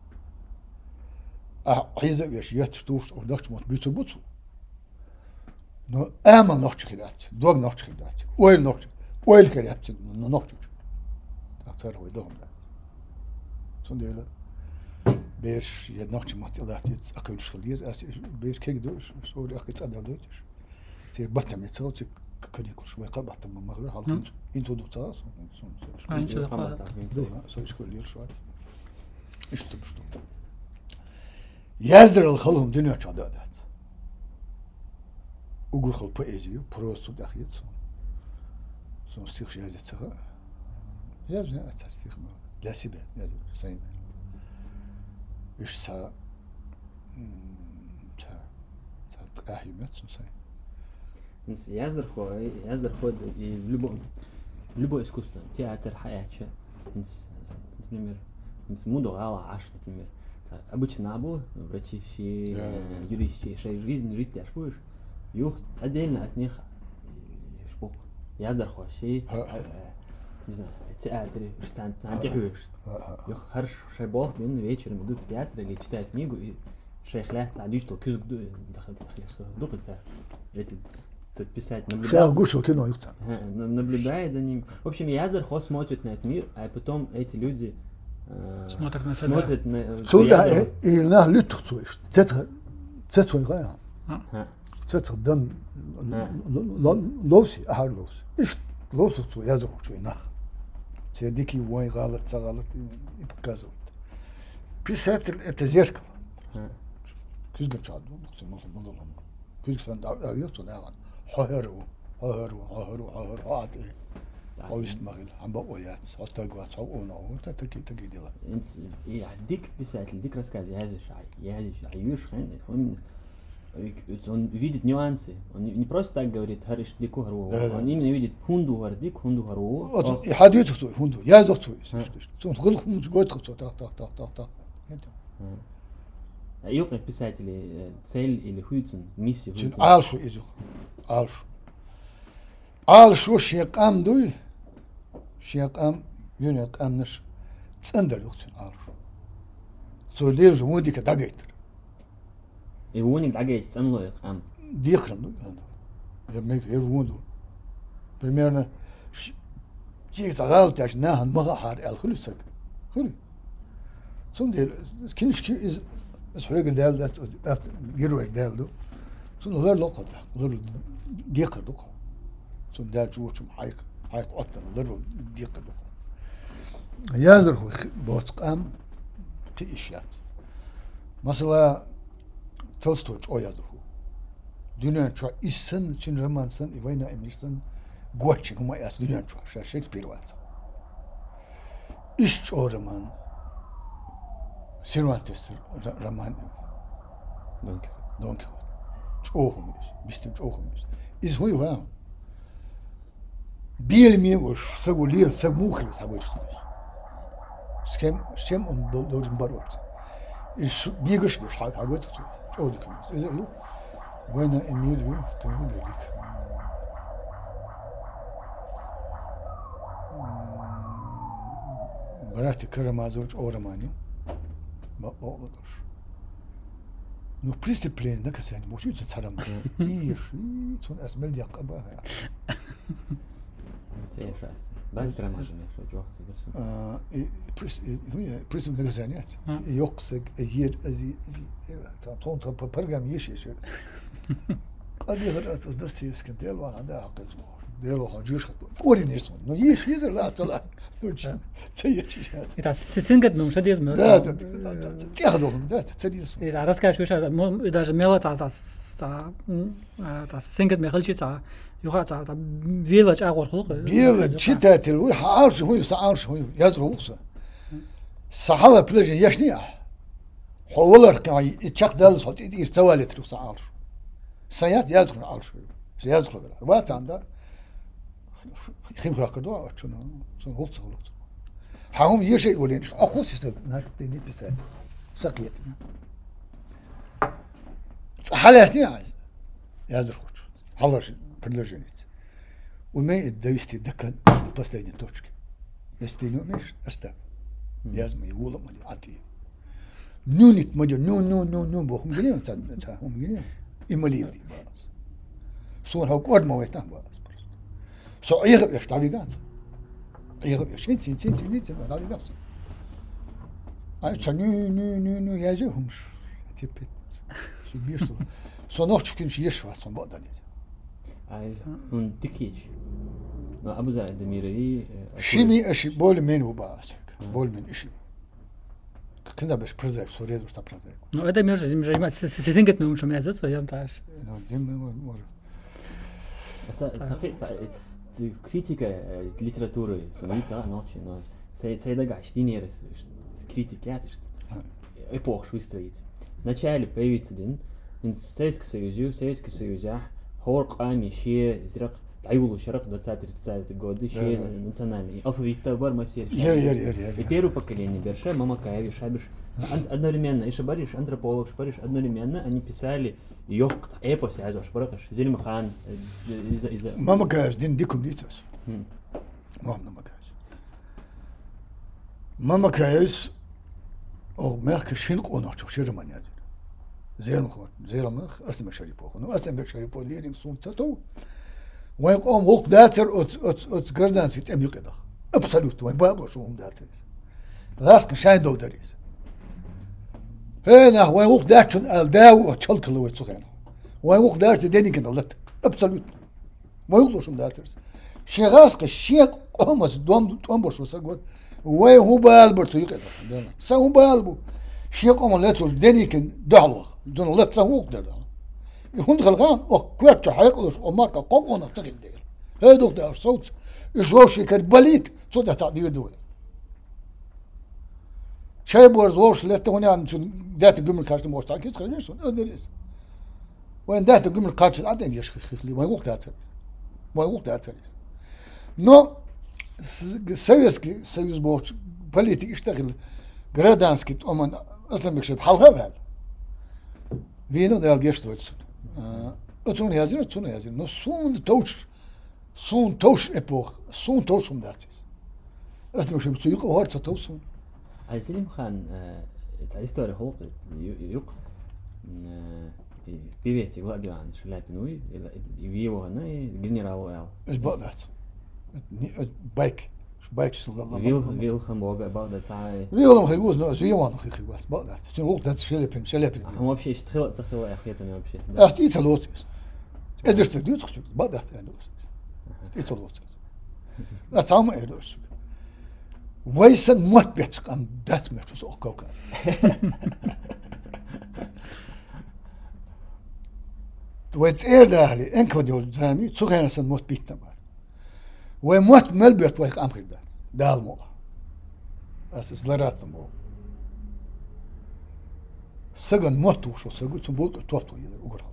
Ayza yaş yatıştır o nok mod bütün bu. No ama nok çıkıyorlar. Dog nok çıkıyorlar. Oil keriyat. Nok çıkıyor. Aktar o doğum da. Sonra öyle بيرش يدناقش مات الله تيت أكل شغليز بيرش كي دوش سوري أكيد أدا دوش سير بطم يتصوت كدي كل شوي قبض تم مغرب حالهم ينتو دو تاس سو شكل لير شوات إيش تبشتو يزدر الخلهم دنيا شادات وقول خل بويزيو بروسو داخيت سون ستيخ جازت سخا يزدر أتستيخ ما لا سيبه يزدر سين إيش تا تقاهيمات سنسي. بس يزدر خود любое искусство, театр, хаяча, например, муду гала аш, например, обычно абу, врачи, юристы, жизнь жить ты будешь, юх отдельно от них, шпук, яздер ход, не знаю, театре, что антихуешь. Юх харш шайбол, бин вечером идут в театр или читают книгу и шейхлят, садишь, что кюзг дупается. Эти писать наблюдает за ним. В общем, Язер Хо смотрит на этот мир, а потом эти люди смотрят на себя. Смотрят на... Сюда и на лютых слышишь. Цецу играя. Цецу дам ловси, ахар ловси. Иш ловси цу Язер Хо чуйнах. Дикий вой галат, и показывает. Писатель это зеркало. Кюзга чад, кюзга сан дауёту наган. Хахару. Алиш магил, амба оят, остагват, она, вот такие дела. Я дик писатель, дик рассказ, Язиш, он видит нюансы. Он не просто так говорит хариш дику хару. Он именно видит хунду хардик, хунду хару. Вот и ходит кто хунду. Я зову. Сон худох год кто так. А юг писатели цель или хуйцун, миссию. Алшу изюх. Алшу шиякам дуй. Шиякам юнякам наш. Цендер юхтун алшу. Солил же мудика дагайтер. И воник дагайт ценлоек ам. Дихрам, ну, я мег вунду. Примерно чик загал тяж нахан магахар эл хулисак. Хули. Сунде кинишки из свеген дел дат героер делду. Сун олар локод. Олар дихр док. Сун дат жуучум хайк оттан олар дихр док. Языр ху боцқам тишят. Mesela Tolstoy o yazdı. Dünya çağ issen için romansın, evayna emirsin, guaçin huma yaz dünya çağ. Shakespeare var. İş o roman. Cervantes roman. Don Quixote. Ogen is, bestimmt ogen is. Is hoe je Bier mir was segulier, seguchlis hagost. Schem dozen barot. Is biegisch was hagot. Odik. Is it? When in mir you to the lik. Barati Karamazovich Oramani. Ma olur. No discipline da kasen mo şu tsaram. İyi, son esmel yakaba ya. Seyşas. Ben gramajım ya çok seviyorum. Prism da kasen ya. Yoksa yer azi ton program yeşil. قد يغرق درستي اسكن ديالو عندها عقل ديالو حاجيش كوري نيسون نو يش يزر لا طلع دوتش تيش إذا سنجد من شديد من لا تاخذهم ده تديس إذا رأسك شو شو إذا جميلة تا سنجد من خلشي تا يخا تا فيلاج أقول خلق فيلاج شتات الوي عارش هو سعارش هو يزروس صحابة بلجن يشني حولر كاي يتشق دال صوت يستوالي ترو سعارش سياد يدخل عارش يدخل وقت عنده خيم خاكدو شنو غلط غلط حاهم يشي يقولين اخو سيستم ناقدين بسال سقيت حالاتني يدخل حضرش بلجنيت وما يدويستي دكان باسلين توشك يستينو مش استاب لازم يقولوا ما يعطي نونيت مجو نو بوهم جنيه تا هم جنيه إماليدي باز صور هو قد ما ويتان باز سو أيغب إيش تعليقات أيغب إيش إنتي تعليقات أي نو يجيهمش تبت شو بيرسو سو نوع تشكين شيء يشوى صن بعد ذلك أي هون تكيش ما أبو زايد دميري شيمي أشي بول من هو باز بول من إشي كنا باش برزاك سوريا دوش تا برزاك نو هذا ميرش زي سيزنجت من شو مازت يا متاعش критика литературы сумица ночи но сейдага штинерес критикят эпох швистроит вначале появится дин من Советский Союз хорق ами шие зрак айвулу шарак 20-30 годы шие национальный алфавит бар масер и первое поколение берше мама каеви шабиш одновременно и шабариш антрополог шабариш одновременно они писали يوق ايبوس يا جوش بركش زي المخان اذا ما كاش دين ديكم ديتاس ما كاش او مرك شنق اوناچو شيرمان يا زي المخ اسم شريبو خنو اسم شريبو ليرين سون تاتو وين قوم وق داتر ات جردان سيت ام يقدخ ابسولوت وين بابو شو هم داتر راسك شاين دو دريس هنا وين وق داتشن الداو تشلكلو وتسخن وين وق دارت دينيكن الله ابسولوت ما يقولوش داترز شي راسك الشيق قومس دوم بوش وسقول وين هو بالبرتو يقدر سو بالبو شيق قوم لاتو دينيكن دعوه دون الله تسوق دار يكون غلغان او كوتش حيقلش او ماكا قوقنا تغين دير هادو دار صوت جوشي كربليت صوت تعدير دول شاي بورز وش لا توني عن دات قمل كاش مور تاكيت خليش ادريس وين دات قمل كاش عدن يشخخ لي ما يقول داتر نو سويس بورش بوليتيك يشتغل جرادانسكي اومن اصلا بكشف حلقه بهال فينو دال جيشتوتس اتون يازر نو سون توش ايبوخ سون توش داتس اصلا مش بتسوق هارت توسون اي سليم خان تاع ستوري هو يوق بيبيتي وادي عن شو لابنوي يبيو هنا جنراو ال البقدات بايك بايك صلى الله عليه وسلم ويل خم بعد تاع ويل خم يقول نو زي وان خي بس بقدات شنو وقت دات شلبن هم وبشي اشتغل يا اخيتنا وبشي استيت لوت ادرت ديوت خشو بقدات اندوس استيت لا تام ادوس ويسن موت بيتك ام دات متوس اوكوكا ويت داهلي انكو ديول زامي تسوغينا سن موت بيتنا وموت ملبيت ويق امخير دال مولا اساس لرات مو Саган моту, что сагу, zum Bulk, тоту, уграл.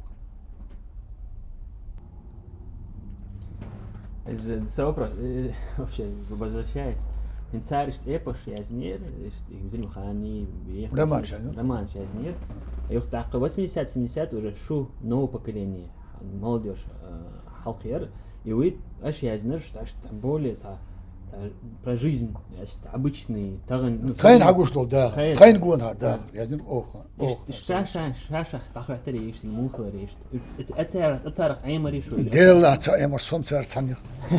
Это вопрос, вообще, возвращаясь. Инцаришь эпош язнер, их взяли мхани, роман язнер. Их так 80-70 уже шу новое поколение, молодежь, халкер, и вы аж язнер, что более про жизнь, обычный, таган. Тайн агуштол, да. Тайн гуна, да. Язнер, ох. Шаша, тахватери, ишь, мухлери, ишь. Это царах аймари шу. Дела, аймар сом цар цанер.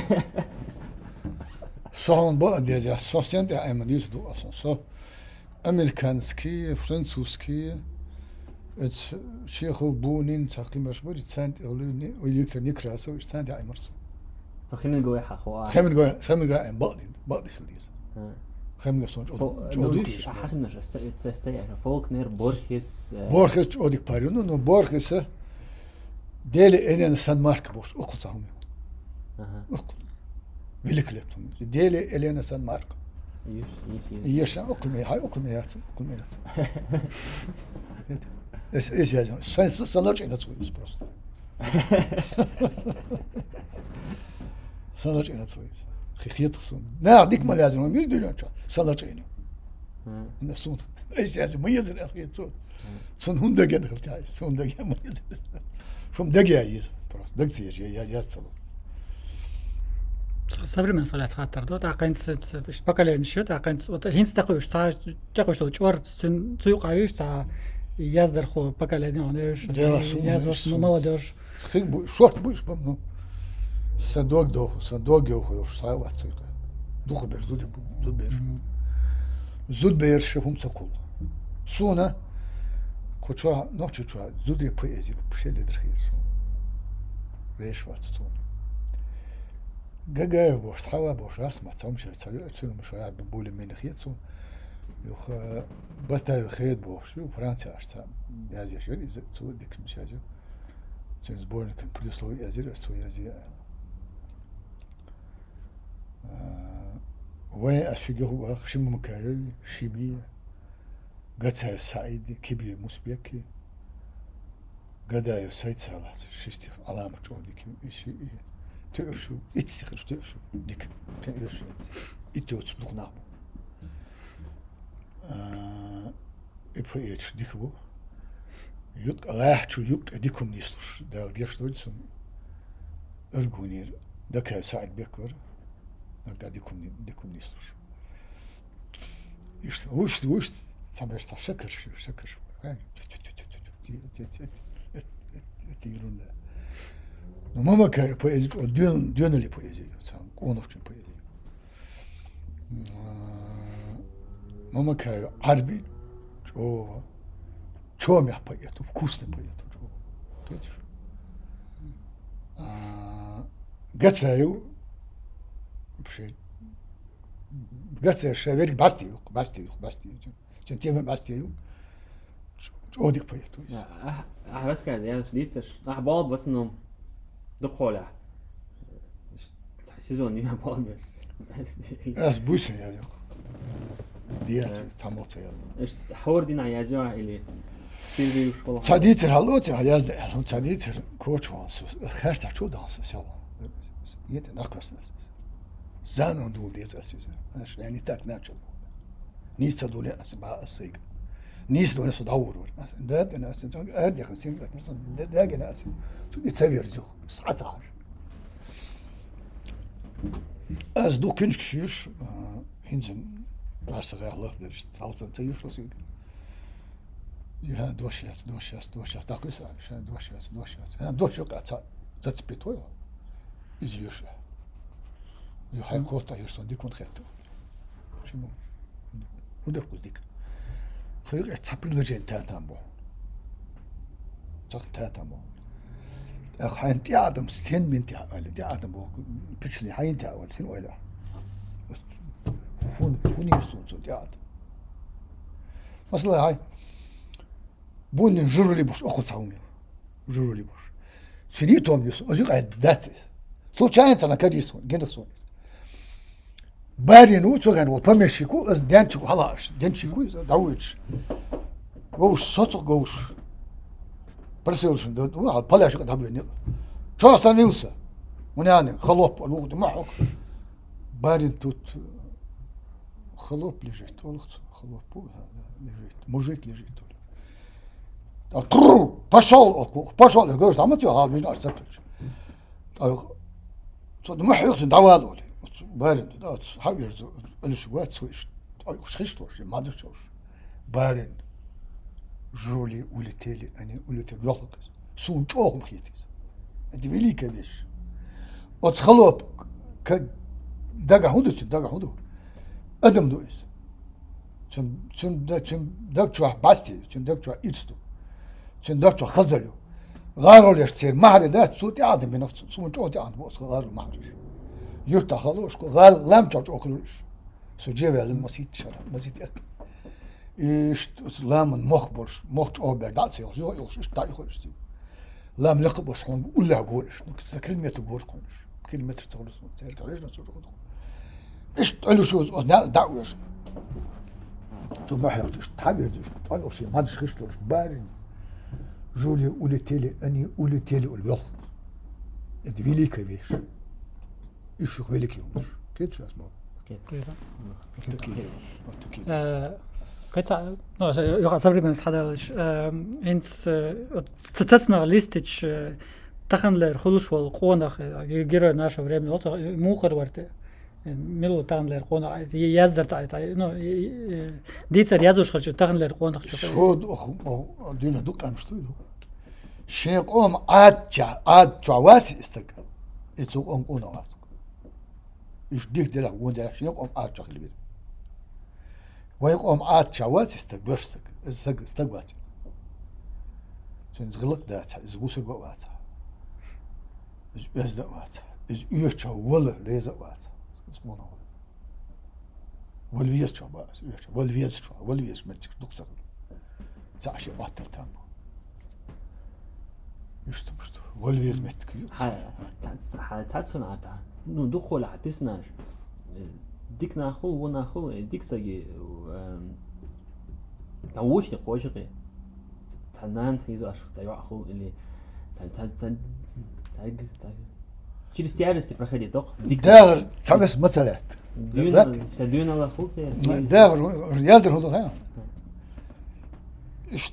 Сон ба дезя, сосенте аймари ду асон. Со американский, французский, это Чехов Бунин, такимаш бори цент, олени, олектр некрасов, цент аймар. خلينا نقول حخوا. خلينا نقول بعض خليز. خلينا نقول. نقولش حخنا استيعر فولكنر بورخيس. بورخيس أوديك بارينو نو بورخيس. ديلي إلين سان مارك بوش أقول صاحبي. أقول. ملك لبتهم. ديلي إلين سان مارك. يش أقول مي هاي أقول مي أقول مي. إيش يا جماعة؟ سنرجع نتسوي بس. سنرجع نتسوي. خيط خصون. لا ديك ما لازم مين يديرون شو؟ سنرجعينه. نسون. إيش يا جماعة؟ ميزر الخيط صون. صون هم دقيقة خلتها. صون دقيقة ميزر. شوم دقيقة يز. بس دقيقة يا صلوا. Современный соляц хаттар да тақинс поколение шо тақинс вот хинс тақуш та тақуш то чвар цуйқаюш та яздер хо поколение онеш яздер молодежь шорт будешь помню садок геохуш сава цуйқа духу бер зуд бер шхум цакул суна коча ночи чва зуди поэзи пшели дрхис веш ватцун جاجا بوش تحوا بوش اسمع تمشي تسوي مش راح بقول من خيطو يخ بتا خيط بوش فرنسا اشتا يازي شو يز تو ديك مش هاجو سينز بورن كان بلوس لو يازي تو يازي وين اشجو هو شم مكاي شيبي قتها سعيد كبير مسبيكي قدا سعيد صلاح شفتي علامه جودك شيء تأشو إتسخر تأشو ديك تأشو إتوتش دخنا إبهيتش ديكو يوك راحتشو يوك ديكم نيسلوش دا جيشتويتسم أرجونير دا كان سعيد بكر دا ديكم نيسلوش وش تمرش شكر تيرون Но мама кай поэзию, дёнали поэзию, сам коновчин поэзию. Мама кай арби, чё мя поэту, вкусный поэту, чё. Видишь? Гацаю, вообще, гацаю, шаверик бастию. Чем тема бастию, одик поэту. بس كده يعني ليتش بعض بس انه دخولة سيزون يا بعض بس بوسن يا جو دينا تموت يا ايش حور دينا يا جماعة اللي في وش والله تاديتر هالوت يا زد تاديتر كوتش وانس خرت شو دانس سوا يد نقص زانون دول ديت اساس يعني تاك ناتشل نيس تدول اسبا اسيق نيس دول صدور ده انا اساس ارجع خمسين مثلا ده انا اساس شو يتسوي رجو 19 از دو كنش كشيش هنزن باسغ الله درش تعالت تيجي شو سوي يا دوشياس تاقيس شان دوشياس هم دوشو قاعد تتبيتو از يوش يو هاي كوتا يرسون دي كون خيتو شنو ودر قلديك فيق تابل لجين تاتامبو صح تاتامبو حين تي آدم ستين من تي عمل تي آدم بو بتشلي حين تي عمل سين ولا فون يرسون تي آدم مثلا هاي بون جرولي بوش أخو تعومي جرولي بوش سني توم يسون أزيق عد داتس تو شاين تنا كريسون جندسون بارين وتوغن وبمشيكو از دانشكو هلاش دانشكو داويتش غوش صوت غوش برسيلشن ده واحد بلاش قد هبيني شو أصلا يوسف وناني خلوب الوقت معك بارين توت خلوب لجيت والله خلوب لجيت موجيك لجيت ترو باشال الجوز عملت يا هذا مش أرسلتش صد ما حيقتن دعوة لي بارين ده حاجة الشوات سويش خشتوش ما دشوش بارين جولي ولتالي أنا ولتالي يخلق سون جوهم خيتيز أنت بيلي كذش أتخلوب ك دقة هدو أدم دويس تم دق شو باستي تم دق شو إيستو تم دق شو خزلو غارو ليشتير مهر ده صوتي عادم بنفس سون جوتي عاد بوس غارو مهرش يرتا خلوش غال لام جوج أخلوش سجيبه للمسيت شرع مسيت أك إيش لام مخبرش مخش أوبر داتسي يوش إيش تاريخ خلش لام لقبش هون ولا قولش كلمة تقول قولش كلمة تقولش ترجع ليش نسوي إيش تقولوا شو دعوة تو ما حيقولش إيش تعبير إيش تقولوا شيء ما تشخصلوش بارين جولي ولتالي أني ولتالي اليوم أنت بيلي كبير إيش يخبيلك يومش كده شو اسمه كده قطع يقع صبري من حداش إنس تتصنع ليستش تخن خلوش والقونا غير ناشف ريم نوت موخر ورته ملو تخن قونا يزدر تاع نو ديتر يزوش خش تخن قونا شو دينا دوق أمش تويدو شيء قوم عاد جوات استك يتوق أم قونا وات إيش ديك دلا وده شيء قوم عاد جاك البيت ويقوم عاد جوات استك برستك استقبات غلط دات زبوس الوقت إز وقت إز يرجع ولا ليز وقت اسمه نوع والويرجع بقى والويرجع متك دكتور تعشى باتر تام يشتم والويرجع متك ها تاتسون عبا نو دخول عتسناش ديك ناخل وناخل ديك سجي تعوش نقوشقي تنان تيزو أشخ تيوعخو اللي شيرستيارستي برخدي دوق داغر تعبس مثلا شدينا الله خلص داغر رياضر هذا ها إيش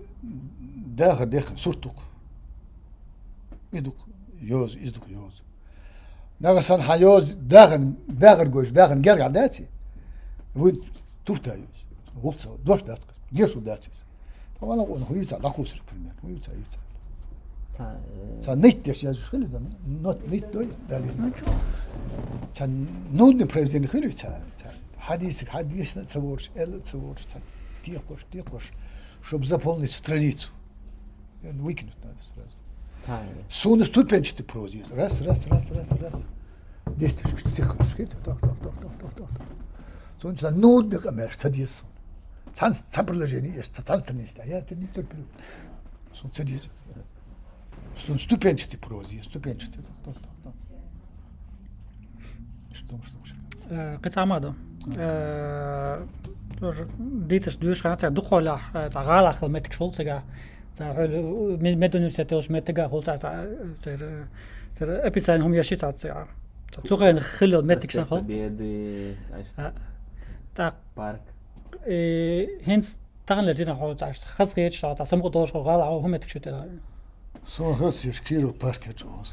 داخل صورتك يدك يوز داغر سان حيوز داغر جوش داغر جرع داتي وين توفتا يوز غلط دوش داتك جيرشو داتي طبعا أنا هو يتع داخوس البريمير هو يتع نيت يش يجوش خلي ده نوت نيت دوي دالي كان نود بريزين خلي يتع حديثك حديث نتصورش تصورش ديقوش شو بزبون تراديتو يعني ويكند نادستراز سون ستوبنش تي بروزيس راس ديستش تسخش كده طق سون كان نود بقمر تديس تسبرلجيني تسانستنيستا يا تني تربلو سون تديس سون ستوبنش تي بروزيس ستوبنش تي طق شو قطع ماذا ديتش دوش كانت دخول تاع غالا خدمتك شولتسا تاع مدن ستوش متجا قلت تاع ابيسان هم يشيت تاع تسوقين خلو متك شنخل بيدي تاع بارك هنس تغن لجينا حول تاع خصغيت تاع سمق دوش غالا هم متك شتلا سو خصيش كيلو بارك جوز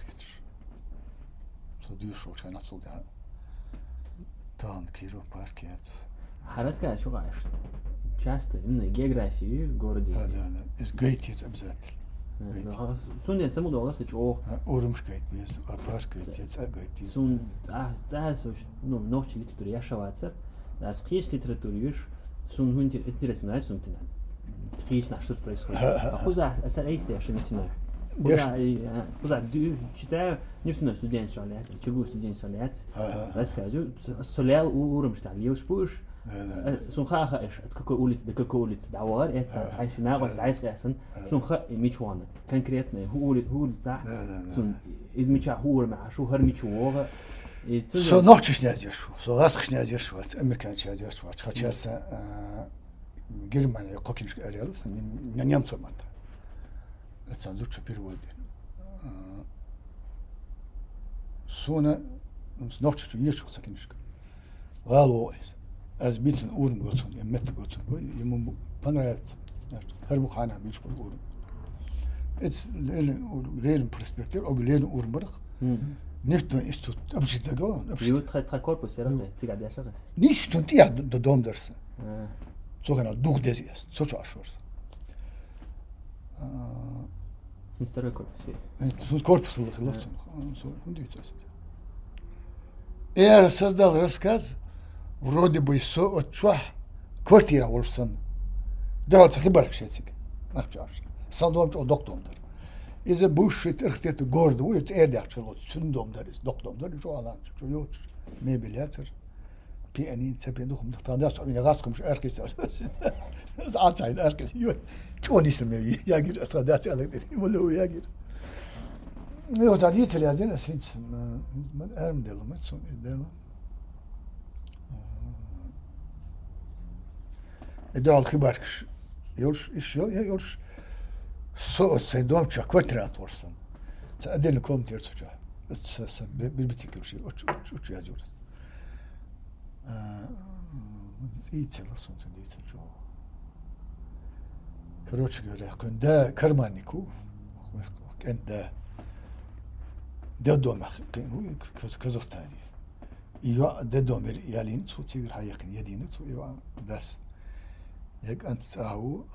سو دوش وش انا تصل ده تان كيلو باركات حرسك شو عايش часто именно географии в городе. Да. Из гейтиц обязательно. Сун я саму долго слышал. Урумшкайт без, а пашкайт, гейтиц. Сун, знаешь, ну, ночь литературы я шаваться. А скрещ литературы сун хунтир интересно, знаешь, сун тина. Скрещ на что происходит. А куда асарейсты я что начинаю. Куда читаю, не знаю, студент шалят, чего студент шалят. Расскажу, солял урумштай, лилшпуш. سون خا إيش تكوي أوليت دكوي أوليت دعوار إت عايش ناقص عايز قاسن سون خا ميشوانا كان كريتنا هو صح سون إذا ميشا هو مع شو هر ميشووغا سو نوتش نادير شو سو غاسخ نادير شو أمريكان نادير شو خاتشاس Germania kokinsk arealis, Nemco mata. Etsan Lucha Pirwodi. Sona noch zu nicht sakinsk. Galo is. Az bitin urun gotsun, emmet gotsun. Yum panrat. Her bu khana bish bu urun. It's leren perspektiv, og leren urmurg. Nifto istut abshita go. Jo très corpus era te قاعد يشغل. Nicht und ja do dom ders. So genau durch des ist. So schwarz. Instagram corpus. So korpus geloopt. So und dit is. Создал рассказ вроде бы от чего квартира olsun. Да, це хіба шетик. Нахчаш. Сандомч о doktordur. İze bu shit irhteti gordu, et erdakçılot, sündom deriz, doktordur, şu alan, şu yok, mebileter. Pianin, tepen dukum, tandas, yine gaskum, herkes, anzeigen, herkes, yok, çoğun istemeye, ya gir, astradas, valla ya gir. Yok, da değil yazın, es finds, man erm delum, so delum. Edal khibarkş, yoş, iş yok, yoş. So sejdom çak kvartirat olsun. Adel komter çocuğa. Bir bitik şey. Uç yazıyoruz. İyi çalışsın diye çocuğa. Короче говоря, когда карманнику, когда до дома, в Казахстане, ее до дома ялин, сутигр хаякин единый, его дас. Як антау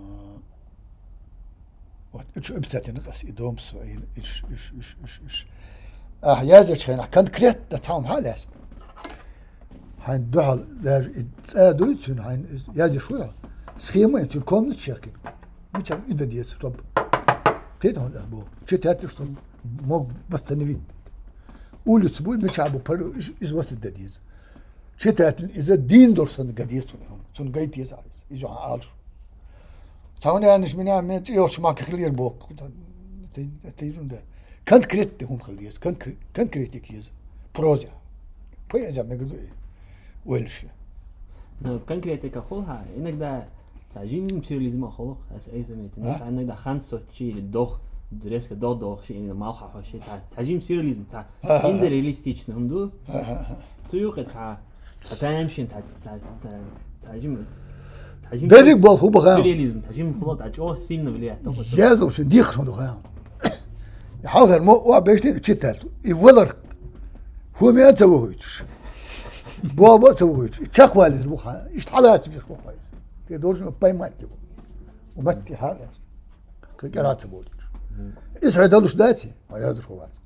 вот это обязательно раз и дом свой иш я зачем конкретно там халест хан дол der ادويتون хан я шо схема эту комнату чекин ничем и да стоп ты там да был читать что мог восстановить улицу будет мечабу из вас да диз читать из дин дорсон гадис сон гайт есть из ал Tağın yanlış mı ne? Men yok şmak kılıyor bu. Teyzun da. Konkret de hum kılıyız. Konkretik yiyiz. Proje. Poyacağım ne kadar ölçü. Конкретика خلها إنك ده تعجين سيرياليزم خلق أس أي سميت إنك ده خمسة شيء الدخ درس كده شيء إنه ما خا شيء تعجين سيرياليزم تاع إنزل رياليستيش نهمدو سيوق تاع تامشين تعجين Derik bol hoe begaan. Surrealism, تعجين خلاص أجوا سين بليه. Ja zo ze dicht van gaan. Je houdt er maar wat best in chital. I wil er hoe meer te woord. Boa te woord. Chak wel is boha. Is حالات في boha. Je doet een payment. ومت هذا. كقرات بول. إيش هذا ليش داتي؟ ما يقدر هو بعد.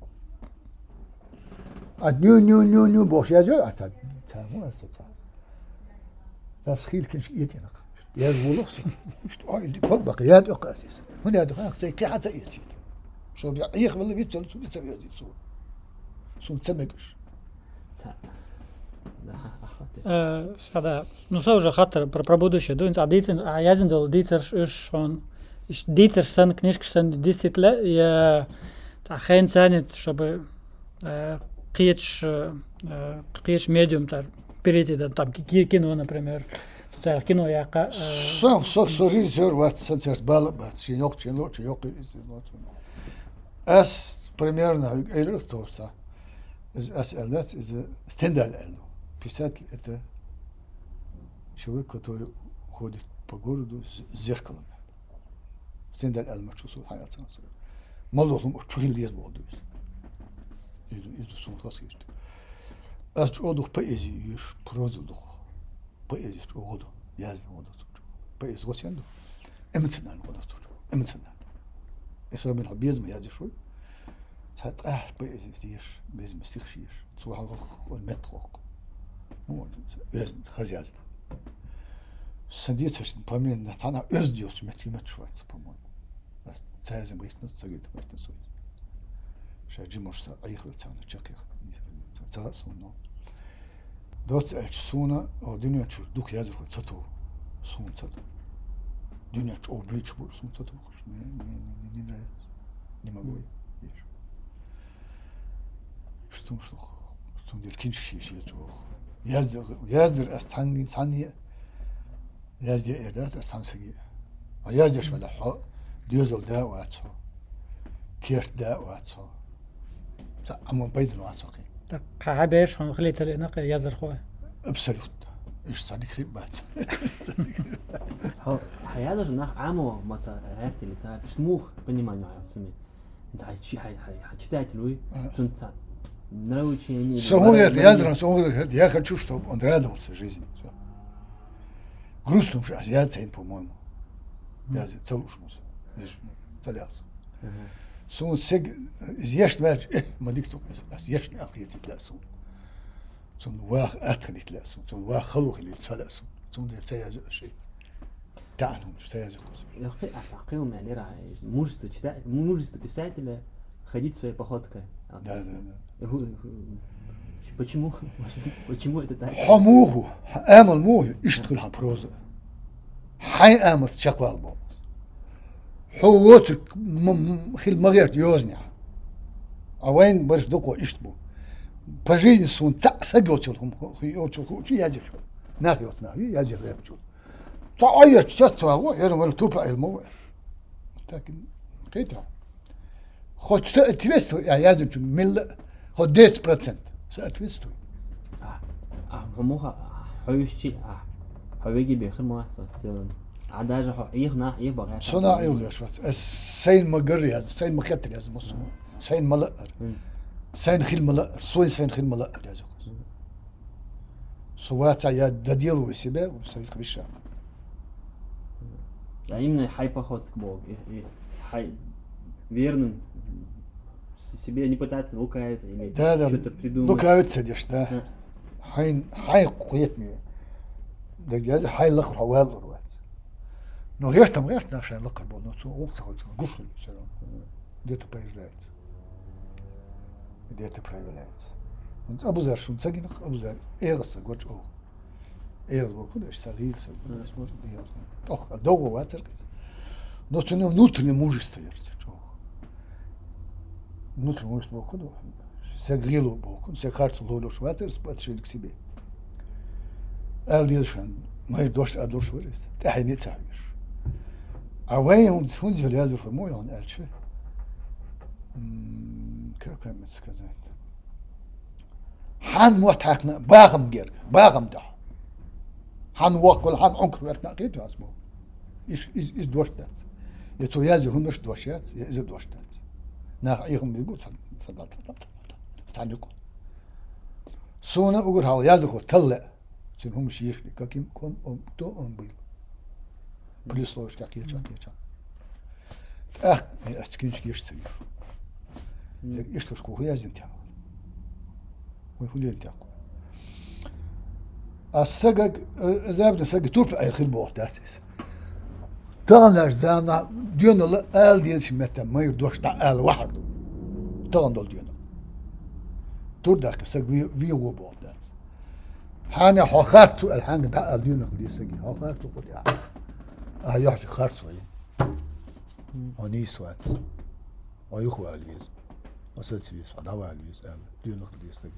نيو بوش يا جو أتى. تمام أتى. بس خيل كنش يتينا. يا زولوس. اللي كل بقيات أقاسيس. هنا هذا زي كي حتى يتي. شو بيعيق ولا بيتل شو بيسوي هذي شو تسمعش. هذا نسوي خاطر пробудущее. Doen ze dit en jazen zal dit is gewoon is dit zijn kniskjes zijn dit zit je geen zijn het чтобы قيتش медиум тар перейти да там кино например социальное кино яка so режиссер вот центр балабат чинок as примерно эльр тоста as элдат из стендаль писатель это человек который ходит по городу с зеркалом стендаль المشوس حياتنا مالهم чугилиез болду сон классик аз чодух поэзию иш прозудух поэзию чоду yazdım o da поэзию госенду эмоционально o da эмоционально eso ben habiz mi yazdı şu hat поэзию diyor bizim istihşiş zu hal metro bu öz yazdı Сидит zwischen Pamela Natana özlüyoruz met Schweiz по-моему. Das zeigen bricht nicht so geht weiter so. Шаджи может айхваться на чаках. Цаас но. Дот эльсуна одинёч дух языр цото. Сун цото. Дунёч обич бул сун цото. Не нравится. Не могу. Что? Что дир кинчи шиш чё. Яздыр ас цанги يازدي إردات أرتانسجي يازديش ولا حق ديوزل دا واتسو كيرت دا واتسو أمون بيدن واتسوكي حبيش هم خليت الإناق يازر خوه أبسلوت إيش صديق خير بات هيقدر ناخ عامو مثلا هرت اللي صار شموخ пониманию سمي انت هتشتايت لوي تنت نروي شيء سهولة يازر سهولة я хочу чтобы он радовался жизни грустно уже я цен по-моему я целушмус целяс сон сег зеш вер мадикту зеш акиет тласу сон واخ اتخلي tlاسу сон واخ خلوخ اللي تصلاسу сон ده تياز شيء تعالوا تياز يا اخي افاقيهم يعني راه можете читать можете писать или ходить своей походкой да почему это так حموه امل موه اشتغل على بروزه حي امل شقوال بو حووت خيل مغيرت يوزنع اوين برش دوكو اشتبو по жизни сон сагочулхум йочул чи яжиш нахиот нахи яжир репчул таайя чатсаго ярмал тупа элмо так кайта хоть соответству я яжу мил хоть 10% соответству هموها حوشي حويجي بيخر ما عداجة يخنا يبغى صنع يغش سين مقري هذا سين مختر يا زلمه سين ملقر سين خيل ملقر سين خيل ملقر يا زلمه سوات يا دديل وسيبه وسوي خبيشة именно хай поход к Богу хай верным себе не пытаться лукавить или что-то придумать лукавить сидишь да حي قويتني دجاج حي لخر حوال روات نو غيرتم عشان لقر بو نو وقت قفل سلام ديت بايرلات ديت برايفلات انت ابو زر شو تسجل ابو زر ايغس قوت او ايغس بو كلش صغير اخ دوغ واتر نو تنو نوتني موجست يرت نوتني موجست بو كدو سجلوا بوكم سكارت لولو شواتر سباتشين كسبي اليشان ما يدوش ادوش وريس تحيني تعيش اوين فونج اليازر في مويون الشي كم مسكزات حان موتحقنا باغم جير باغم ده حان وقل حان عنكر ورتناقيتو اسمو ايش دوشتات يتو يازر همش دوشات يز دوشتات نا ايهم بيقول صدق تعلقوا سونا أقول هذا يازلكوا تلا سنهم شيخ كاكيم كون تو بيل بليس لوش كاكيا أستكينش كيش تسير إيش تسكو هي زنتها والفلين تاكو السجق زابنا سجق تورب أي خل بوحداتس تاناش زانا ديون الله آل ديال شمتا ما يردوش تا آل وحده تان دول ديون تردك سج في وبودات حنا حخرت الحين ده الدين اللي سجي حخرت قول يا يحش خرط وين اني سوات ويخو الويز وساتيس ادوا الويز دين اللي سجي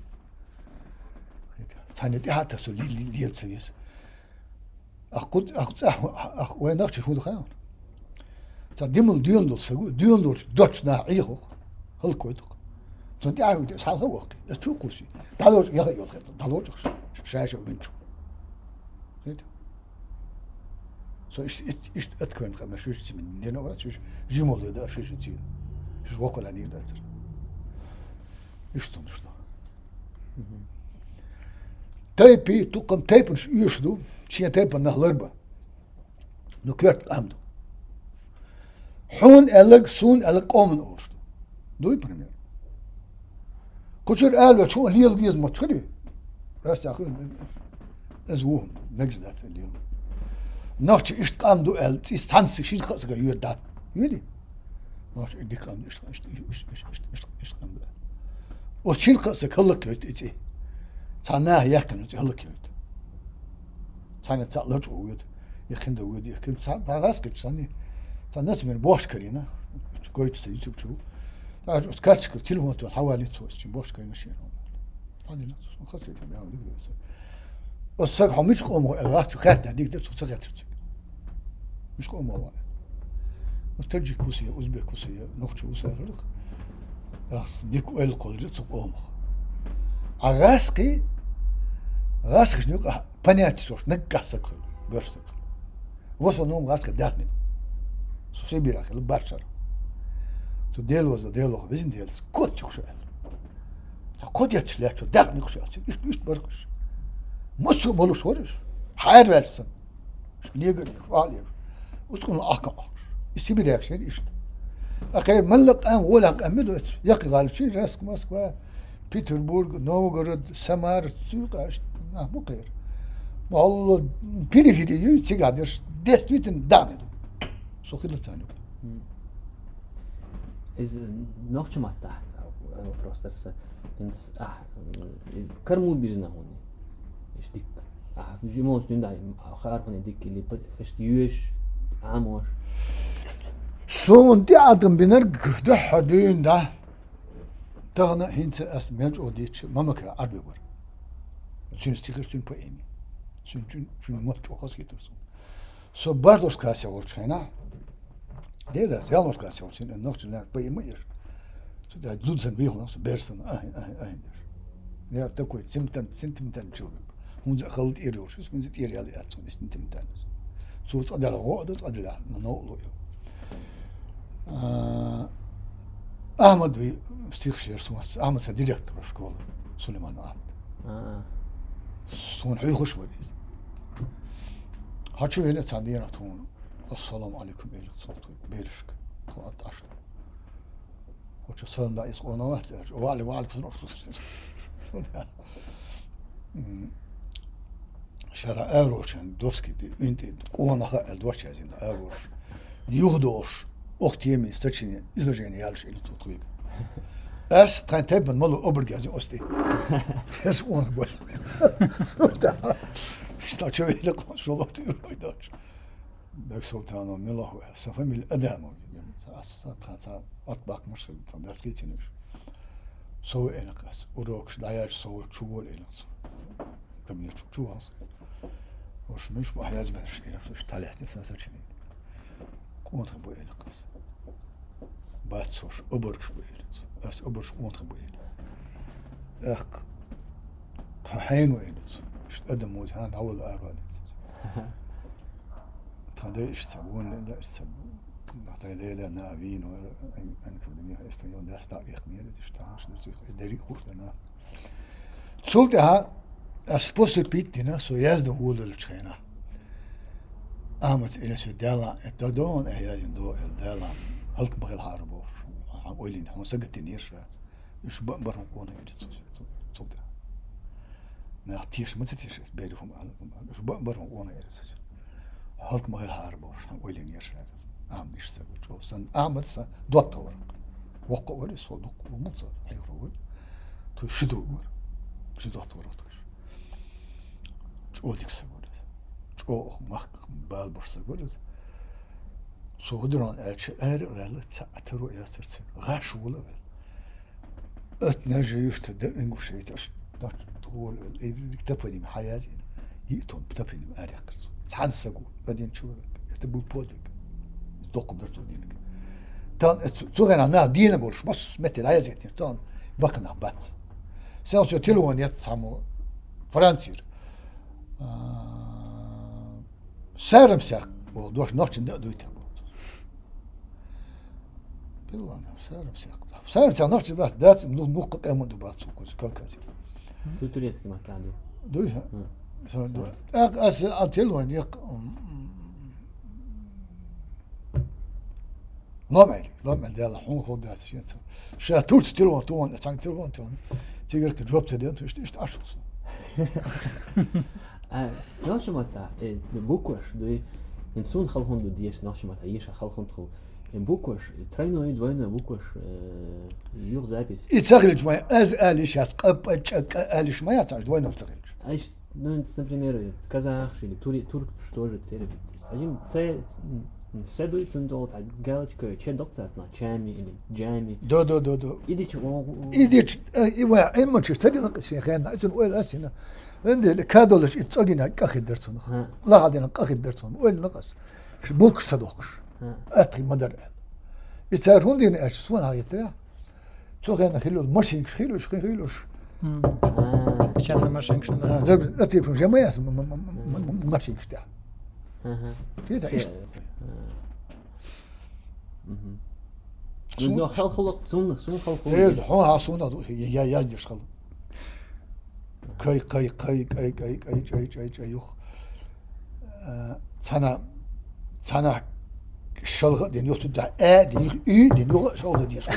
ثاني دي حتى سو لي سيس اخ وين نخش شو دخان تديم دين دول سجو دين دول دوتش ناعيخو هل كويتو تنتي عاود صار وقت تشوقوسي دالوج يا يا دالوج شاشه بنشو هيك سو ايش اتكون خمس شوش من دينا ولا شوش جيمول ده شوش تي شوش وقول عليه ده ايش تنشنا تايبي تقم تايبنش يشدو شي تايب نهلربا نكرت امدو حون الك سون الك قومن اورشدو دوي بريمير كشر قال شو اللي يلقيز متخلي راس اخر ازوهم نجدات اليوم ناخش ايش قام دو ال تي سانس شي خص يدا يدي ناخش دي قام ايش قام دو وشين خص كلك يتي تانا يكن هلك يت تانا تلج ويد يكن دو ويد يكن تاراس كتساني تانا من بوش كرينا كويت سيتو شو كارتشك تليفون حوالي توش باش كاين ماشي هذه خاصك تعمل هذا الصق حمش قوم راح خاتنا ديك ده تصغت مش قوم هو وترجي كوسية أوزبك كوسية نخشى وسافرك ديك ويل قلجت تقوم عراسقي راسق شنو بنيات شوش نقع سكر برسك وصل نوم راسق داخل سوسي بيراك البارشر تو ديلو بيزن ديل كوت يخشى كوت يتشلات داخل يخشى إيش برقش مسو بولوش ورش حير versin niye görüyor ağlıyor uskun akam İsti bir reaksiyon işte akayır mallak an volak amedot yakı galçı Rask Moskva Peterburg Novgorod Samar Tükaş bu kadar Allah periferiyi çıkardır desbitin damet sokulu tanıyor إذ نوع ما تحت أو بروسترس إنس كرمو بيجنا هون إيش ديك جيموس ننداي خيار هون ديك اللي إيش يوش عامور son di adım biner de hadinde tağına hinse asmec o diç mamaka arbe var çünkü stikirsin poemi çünkü mot çok az getirsin so bardos kase olçayna Devlet yalnız kaç olsun noktalar poemi so da dudsen bilen so bersen ay ya da koy sentimental çılgın Hunza kalt eriyoruz biz eri alıyoruz sentimental so da adalar ne oluyor Ahmet Bey stihşer sunat Ahmet sa direktör şkola Süleyman Ahmet son hoş var biz Haçı öyle sandıya tonu Assalamu alaikum eylik sotu berişk tuat açtı Hoca sağında is ona var vali şara Euroçen doski bir ünte qonağa eldvaç yazın Euroç yuhdoş Oktiyemi stachini izraženi jališ ili to tvojeg. Es teben malo obrgazi osti. Es on boy. Šta čovjek konsulot ürojdač. Bek sultano milahu sa famil adamo. Sa atbak mashkil tandars geçiniyor. So enakas. Urok dayar so çuval enas. Kamil çuval. Hoş muş bu hayaz ben şey talihti sa saçını. Contre bu enakas. Batsoş oburç bu elit. As oburç contre bu elit. Tahin bu elit. İşte adam muz han havul arvalet. Tade işte bu ne işte Tade de navin ve ankudemir işte yon ders tarih niyet işte işte deri kurtlarına. Sulta ha aspost pittina so yazdı hulul çayna. Ahmet ile şu dala etadon ehyajin do el dala halk bagel harbo oylin ama sagat nirşa iş barın konu edit sulta ne atiş mı tiş berifum iş barın konu edit halk bagel harbo oylin nirşa am işte bu san Ahmet sa doktor وقع وري صدق ومصر حيرول تشدو ور شو doktor çoğdik sagoruz çoğ mak bal borsagoruz soğuduran elçi verli atero yasırtı gaş wula ötnejü işte de inguşeyt da tol evlilik tapanim hayatı yiton tapanim arıkız san sagu adin çoluk işte bu poduk doktor todinik tan sonra na dine boş bas metel hayatı tan bakın bat Selçuk telefon yat samu Fransız sarımsak bu doş nokçunda duytu Billah sarımsak nokçu bas ders nukuk emudu bas koş kalkası Tureski makanı duysa sonra as telefon yak Normal de Allah hun خود şey şaturt telefon ton sanki telefon ton تقدر جواب تدين تشتيش تعشوص ناش ماتا بوكوش دوي إنسان خلهم دو ديش ناش ماتا يش خلهم خل بوكوش ترينو يدوينا بوكوش يوغ زابيس يتغلج ما از آليش أسقب أشك آليش ما يتعج دوينا تغلج أيش نون например كذا شيء تورك شتور تسير أجيم تسي Sedu için dolu ta galç köy çe doktor na Jamie. Do. İdiç o. İdiç İva emma çirtedi şeyhana için öyle asina. Önde kadoloş itsagina kakhidertun. La hadina kakhidertun. Öyle nakas. Bu kısa dokuş. Atri madar. İçer hundin eş suan hayetler. Çok yani khilul maşin khilul. Pечатный машинка, да. Да, это прям я машин işte. Keda işte. Nu halkılık sun halkılık. Evet, ha sonra ya yazdır şal. Kay yok. Sana şalga deniyor da deniyor, deniyor şalga diyor.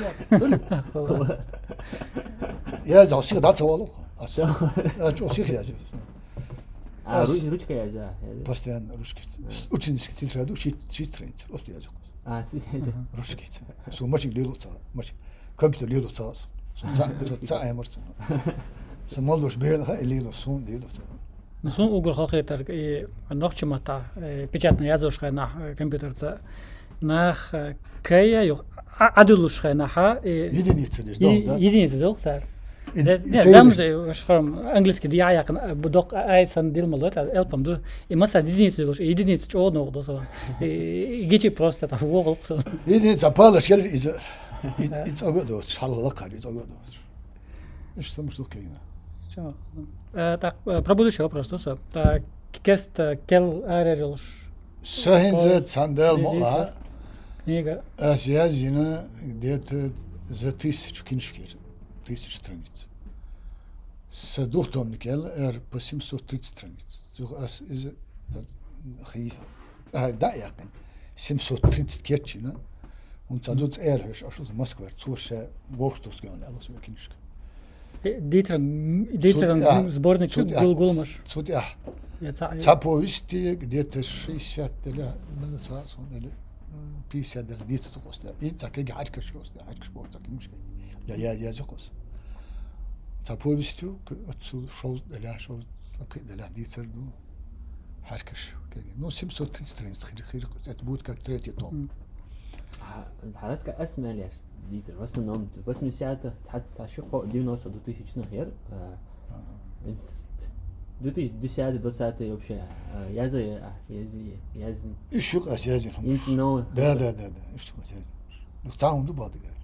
Ya da şey da tavalı. Çok şey yazıyor. Ручка yazıyor. Постоянно русский. Ученический тетрадь, шит тренер, просто yazıyor. Русский. Su maçı liluca, maçı. Kompüter liluca. Sa aymarsın. Samaldoş beğen ha lilu son liluca. Сон угол халқитар нохчмата печатный язушка на компьютерца нах кая yok aduluşka naha единица yok sar. Damda şuram angliski diye yakın bu dok aysan dilmalı ta elpam du imasa единица çoğu oldu so. Geçi просто ta вогол. Единица палаш gelir it's ogodo şalala kar it's ogodo. İşte муж кайна. Так, про будущее вопрос, то так, кест кел арерилш. Сахинзе цандел мола. Книга. Азия зина где-то за 1000 книжек, 1000 страниц. С двухтомник по 730 страниц. Из да я 730 керчина. Und zadut hösch aus Moskau zu Workstos gehen alles über Knischke. Дитер сборник Гулгулмаш. Судя. Заповести где-то 60 или 50 дитер тохоста. И так и гачкаш коста, гачкаш так мушка. Я жокос. Заповести отсу шоу для дитер ду гачкаш. Ну 730 страниц хир это будет как третий том. Харацка اسمع ديتر was genommen was mir sagte hat schon die noch so 2000 nachher du die sagte das hatte вообще я İş yok asiyazın. No. Da. İşte asiyazın. Tamam du badı gel.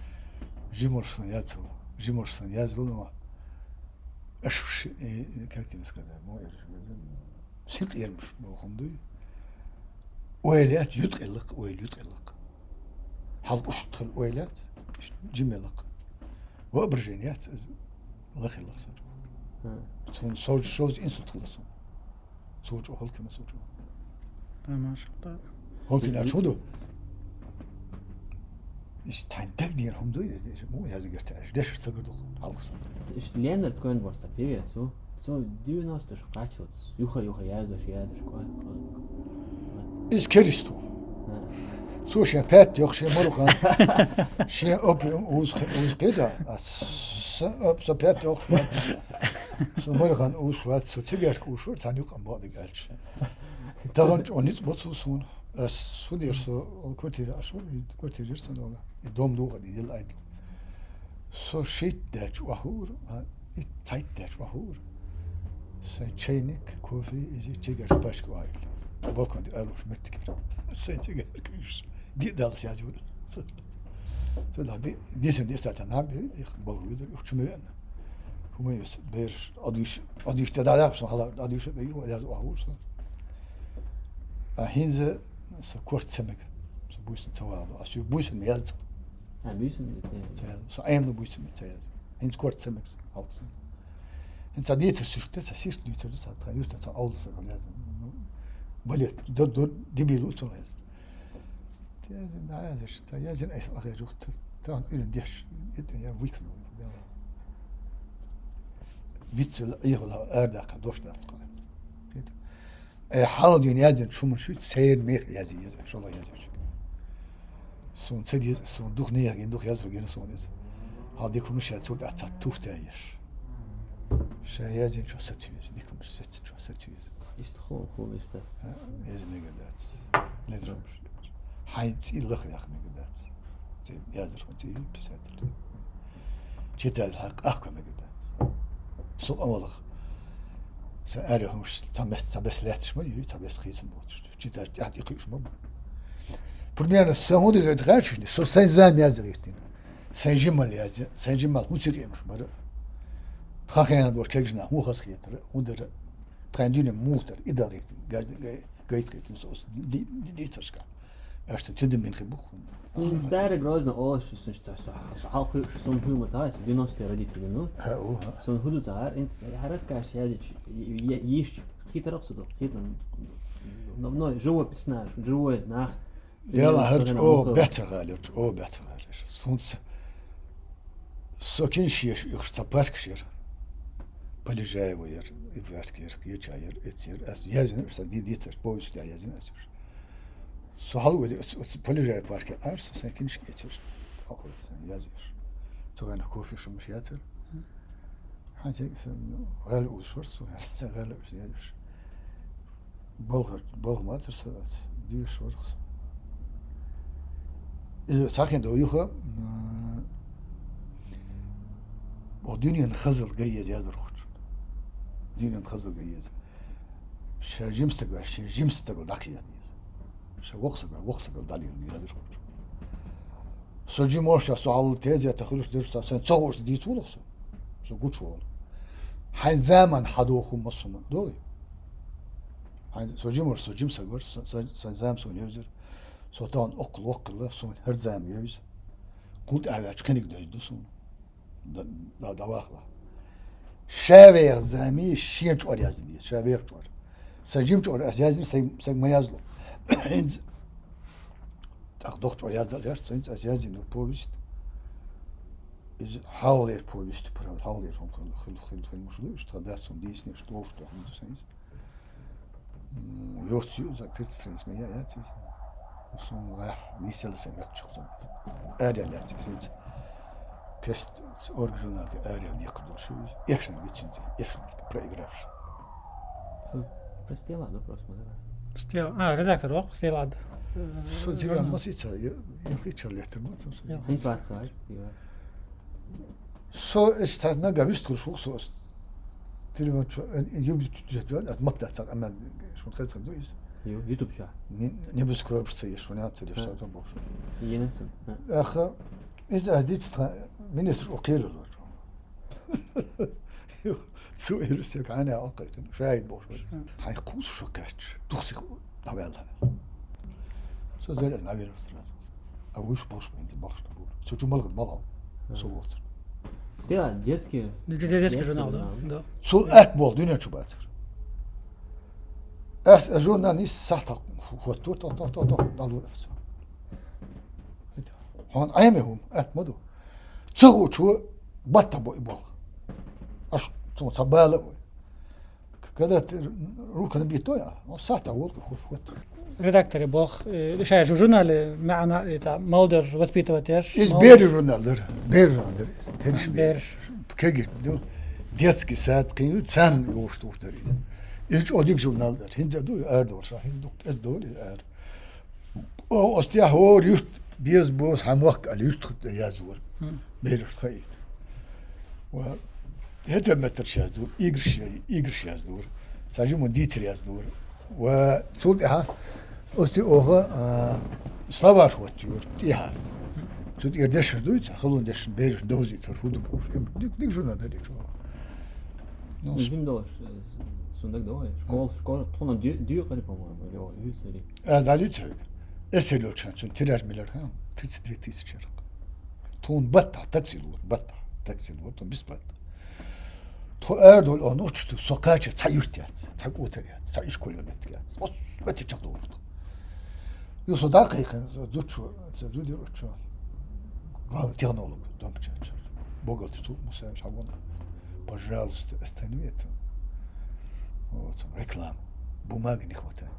Jimorsan yazılı ama aş как тебе сказать, sık yermiş bu okundu. Oylat yutqillik. حظ أشتغل ويلات جملق وأبرجينيات الله يخلص صار صوج شوز إنسو تخلصون صوج أهل كما صوج ما شاء الله هو كنا أشهده إيش تاين تقدير هم دوي مو هذا قرتاش ليش تقدر خلص إيش لأن تكون ورثة بيبي سو ديو ناس تشقاتشوتس يخا يازوش كوال إيش كريستو So şey pet yok şey morukan şey op uz qeda so pet yok so morukan uz wat so tiger kushur tan yok am bode gelç tavan onit botsun as so der so kvartier aşur kvartier sen ola dom doğru değil ay so shit der wahur it tight der wahur say çaynik kofi izi tiger başka ay bakın almış mettik say tiger kuş دي دال سياجور سلا دي سن دي استاتا نابي ich balgıdır yok çümüyen kuma yus bir adış da yapsın hala adış da yok ya ahursa hinze so kort zemek so buisen tawal as you buisen melt buisen so ein buisen mit hinze kort zemek halsın hinze dieter sürte sirk dieter da just da alles lazım böyle dur gibi lutun Ja, jij zijn echt gezocht. Dan een dish, ja, weekend. Witzel, ihla, erdak, doşlat. Hal dünyadan şu müşüt seyir mer yazı şola yazıyor. Son sedi son duh ne yagin duh yazıyor gene son yazı. Hadi konuş ya çok da tuh değer. Şey yazın çok satıyoruz. Dikomuş çok satıyoruz. İşte cool işte. Yazın ne geldi. Nedir olmuş? حيت إلا خياخ مقدات زي يازر زي بساتر جيت الحق أحكم مقدات سوق أولغ سأله مش تبس لاتش ما يجي تبس خيس الموتش جيت يعني يقيش ما برنامج السعودي غير غاشني سو سنزام يازريتين سنجمل يازر سنجمل موسيقى مش مرة تخاخينا دور كيجنا مو خاص خيتر ودر تخاندين موتر إدارة قايد خيتين سوس دي تشكا أشتى تدم من خبوخ من ستاره grozno ovo što halko som humor zavis dinosti radici no son hudu zar int haraskaš jezič jiš hitar också då hitan no живописна живое nach يلا هرج بيتر غالير بيتر غالير سونس سكين شيش يختبرك شير بالجاي وير يفركير يجاير اتير اس يزن دي ديتر بوست يزن اس Så halvøy polyrei parker så sen kinch geçir. Akıl sen yazıyor. Sonra kofi şu müşatir. Hacı sen gal usul so sen gal yazıyor. Bolgmat so diyor şorx. Sakin de uyuha o dünyanın xızıl gayez yazır xoç. Dünyanın xızıl gayez. Şajimstek dakiyat. وخصك دالين يازر سجي موشا سوال تيجي تخلص درستا سن تصورش دي تولخ سو قوت شو حين زمان حدوخم مصمم دوي حين سجي موش سجيم سغور سن زام سون يوزر سوتان وقل سون هر زام يوز قلت اواج كنيك دوي سون دا واخلا شاوير زامي شينچ اور يازدي شاوير چور سجيم چور يازدي سگ ما يازلو Heinz tak doktor yazdılar sonra yazın povest is hauler povest prav hauler som khil mushlu что да сон дисни что он сенс ёртю за 30 меня я тис сон рах нисел сен çıksın erler sens pest оригиналde erler yakıdır şu yaşın bitince yaşın проигравш Простила, ну просто, да. редактор ок стелад. Что тебе масица, я хочу летер, ну там. Инфляция, да. So ist das na gewusst schon so. Телефон юбит чуть-чуть, от матта так, а что сказать, ну есть. YouTube шо. Не бескровшься, я что не отсюда что там больше. Енесен. Ах, إذا هديت министр أقيل له. Zu ist ja keine Ahnung, schreit bosch. Hay kus şu kaç. Duxi haberler. Sözler ne verirsin? Avuç boş mu indi boş bu. Çocuğum balık bala. Soğuk. Стела детский журнал, да. Sul et bol dünya çubatır. Es jurnalist sahta hutu ta dalu nefsi. Han aymehum et modu. Çoğu çu batta boy bol. Aş صبالة كذا روح كان بيتويا وصحته والله خد редактор бог шай журнал معنا تاع مولدر воспитыватель из бери журналдар кегиш бер кегиш детский сад кию цан yoğuştuğdur ilk odik jurnalдар hinza du erdo şahin du ez doli er o ostya hor yurt biz boz hamwak al yurt yazur beri khayt ve هذا متر شازدور إيجر شازدور تاجمون ديتر يازدور وصودها أستي أوغا سلافار واتيور تيها صود إردشر دويت خلون دشن بيرش دوزي ترفودو بوش ديك جونا داري شو Bizim de var. Sonunda da var. Skol tona diyor galiba ama öyle o yüzleri. Dali tök. Esel ölçen tirar miler ha. Tritsit ve tritsit çarık. Ton batta taksil olur ton bis batta. To Erdol onu uçtu, sokağa çıktı, çay yurt yat, çay otel yat, çay iş koyuyor ettik yat. O beti çok doğru. Yoksa daha kayıkın, duçu, dudur uçu. Технолог, домчач. Богатый тут, мусаешь, а вон, пожалуйста, останови это. Вот, реклама. Бумаги не хватает.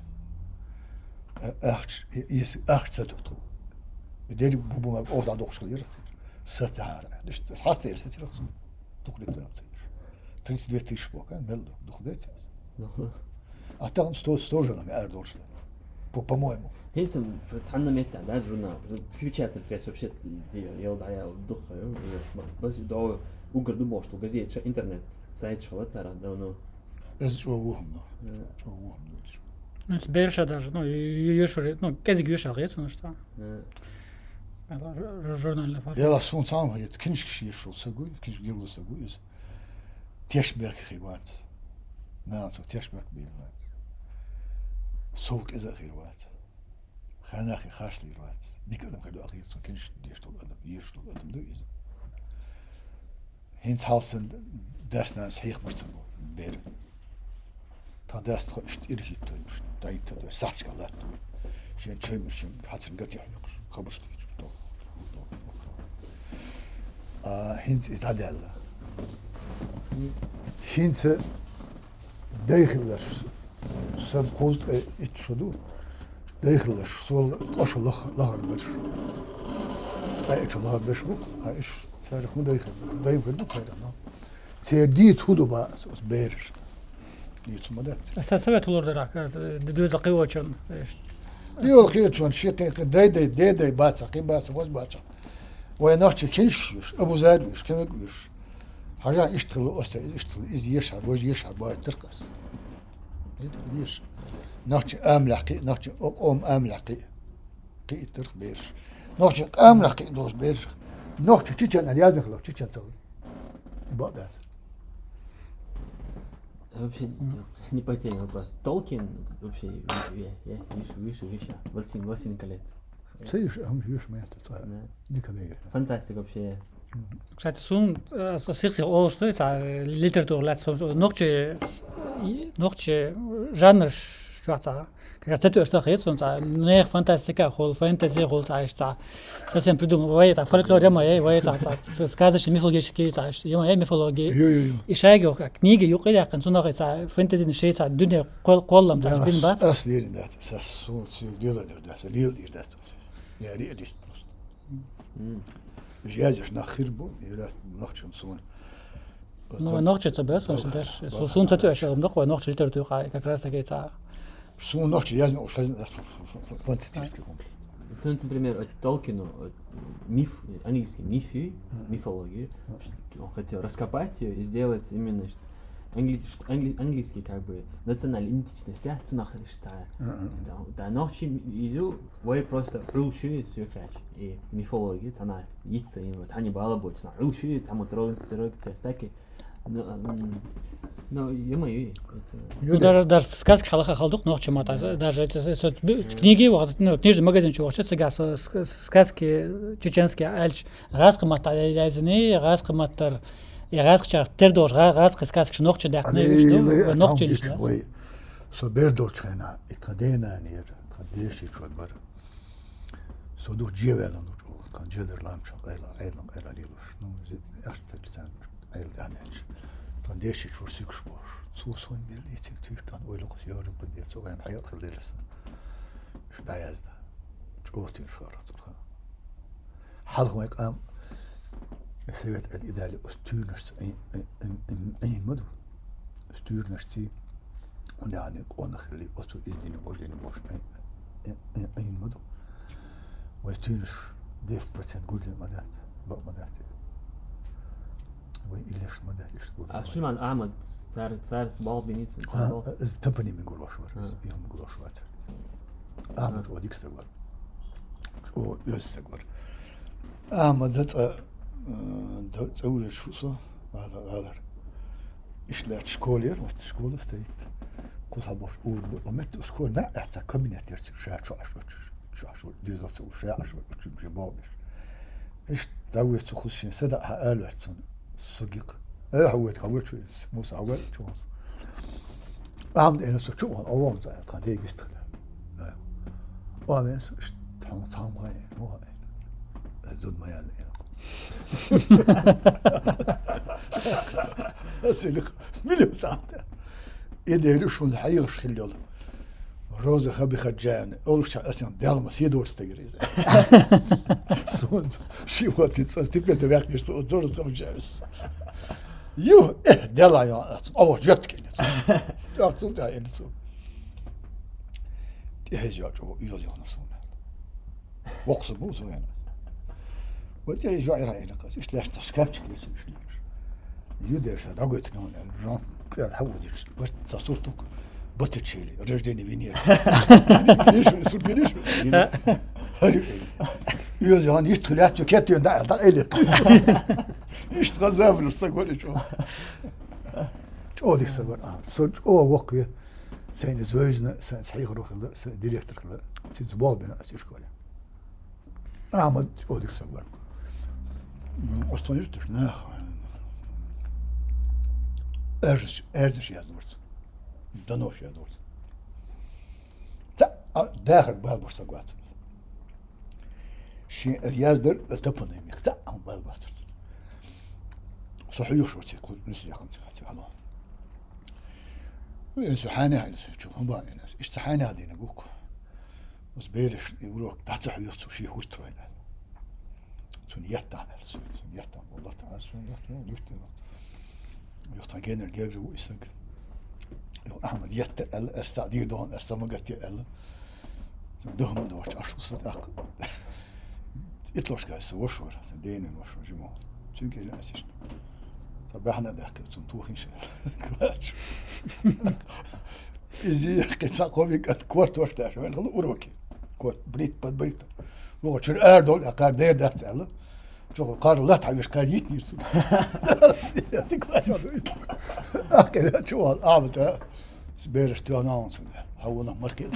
Если акция тут. Bedeli bu bumag oradan dokuşluyor. Satara. İşte hasta yerse çıraksın. Dokuyup yaptı. 32 тысяч пока, мелдо, доходите. Атам 100 же нам Erdol'da. по-моему. Хинцем цанна мета, да, журнал. Печатный пресс вообще елдая духа, бas до угр думал, что газета, интернет, сайт Швейцара давно. Это что угодно. Ну, теперь еще даже, ну, юшури, ну, кезик юшал, есть, ну, что? Журнальный фар. Я лас он сам говорит, книжки шел сагуй, книжки делал сагуй. Тешберг хигват. На, то Тешберг бирват. Соук из ахирват. Ханахи хашлирват. Дикадам каду ахир, то книжки дештол адам, ештол адам дуиз. Hint halsen desnans heeg marsan ber. Та даст хош ирхит тош. Дайт тош сачкалат. Шен чемшин хатен гати хавик. Хабарш то. Hint is adella. Hint داخل سب خوست اتشدو داخل سول قش لهر بش ايش لهر بش بو ايش تاريخ داخل بو كايرنا تيديت هودو با بيرش ديت مدات اساسا تولور دراك دوز قوه شون يو خير شون شي داي باتsa قيباس واز باتsa ويناخش كينش ابو زاد مش كمكوش حاجه اشتغل از يشعر وج يشعر باي ترقص ليش ناخش املقي ناخش املقي قي ترق بيش ناخش املقي دوز بيش ناخش تيجان اليازخ لو تيجان تسوي بعد Вообще не по теме вопрос. Толкин вообще я выше. Властелин колец. Сидишь, а мы видишь, мы это никогда не. Фантастика вообще. Кстати, сун сикси олшты, литература латсо ногче жанр шваца. Как это что есть, он не фантастика, хол фэнтези, хол цаишца. Совсем придумал, это фольклор моей, это сказочные мифологические, я мифология. И шайги, книги, юкили, как он это фэнтези не шеется, дунья коллам, так бин бац. Аслирин да, сун делали да, лил да. Я реалист просто. Едешь на хирбу, и ночью сон. Ну, ночью это без, он даже сон это еще ночью литература, как раз таки это. Сон ночью я знал, что это фантастический. То, например, Толкину миф, английский мифологию, он хотел раскопать ее и сделать именно английский как бы национальная идентичность, да, да, ночью иду, вы просто рушили все и мифология, она яйца, и вот они было больше, рушили, там вот ролик, таки, но е-мое, ну даже сказки халаха халдук ночью мата, даже эти книги, вот, ну, книжный магазин чего, что это сказки чеченские, альч, разхмата, язни, разхматар. Я разговор тердор, разговор сказки ночью да, не что, ночью лишь. Ой, со бердорчена, и кадена нер, кадеши чудбар. Со дух джевела ночью, кан джедер ламч, эла лилуш, ну, аж так сам, эла данеч. Кадеши чурсик шпош, цусон милитик тюртан, ойлук сьору поддет, so ein hayat khaldersen. Штаязда. Чотир шарат. Халх мекам سويت الإدارة استورنش أي مدو استورنش تي ونعني قونا خلي أصل إذن وجدين موش أي مدو ويستورنش 10% قلت المدات بق مدات وإليش مدات يشتغل شو معنى أحمد صارت بال بنيت تبني من قول وشوار يوم من قول وشوار أحمد وديك استغفر أو يستغفر أحمد هذا تقول شو صح هذا إيش لا تشكولير وتشكول فتيت قصها باش ومت شكول ما أحتى كابينت يرتي شو ديزات شو جبابش إيش تقول تخشين صدق حقالت صديق هو تقول شو موسى أول شو عمد أنا شو أول زي كان ديك يستخدم وأنا إيش تام غاية مو غاية زود ما يالي أسألك مليون ساعة يدير شون الحقيقة شخليل روزة خبي خجان أول شيء أصلاً ديالما سيدور استجريز سون شيء وقت تبي تبيعك سو دور سمجالس يو ديالا يا أول جت كنيس أكتب ده إنسو تهجع جو يوزي خنصونا وقص بوزو يعني ودي جاي رأي لقاس إيش لاش تسكبت كل شيء يوديش هذا قلت لهم الرجال كذا حوديش بس تصورتك بتشيلي رجديني فينير ليش يصير فينيش يوزي هان يشتغل كاتي وندا إلك يشتغل زافل الصقور شو ديك الصقور صدق وقوي سين زوجنا صحيح روح ديريكتور كذا تزبال بنا أشكاله أحمد ديك الصقور أصلاً ناخ أرزش yazılır. Danoş yazılır. Dağır balbur sagvat. Şey yazdır tapanım yıkta ama balbastır. صحيح شو تقول نسي يا خمسة هلا. سبحانه هاي شوفهم بقى الناس إيش سبحانه هذه نبوك. بس بيرش يقولوا تحت صحيح شيء هو تروينا. سنيات تعمل سنيات تعمل والله تعالى سنيات تعمل يشتغل يختار جينر جيرو ويسق أحمد يتقل استعدي دون استمجت يقل دهم دوش عشو صدق إطلعش كاس وشور دين وشور جماعة شو كده أسيش طب إحنا ده تنتوخ إن شاء الله إزاي قصة قوي قد كورت وش ده شو يعني أوروكي كورت بريت لو شر أردول أقار دير ده تعال شو قار لا تعيش قار يتني صد أكيد شو هالعبد سبيرش تيانانس هونا مركز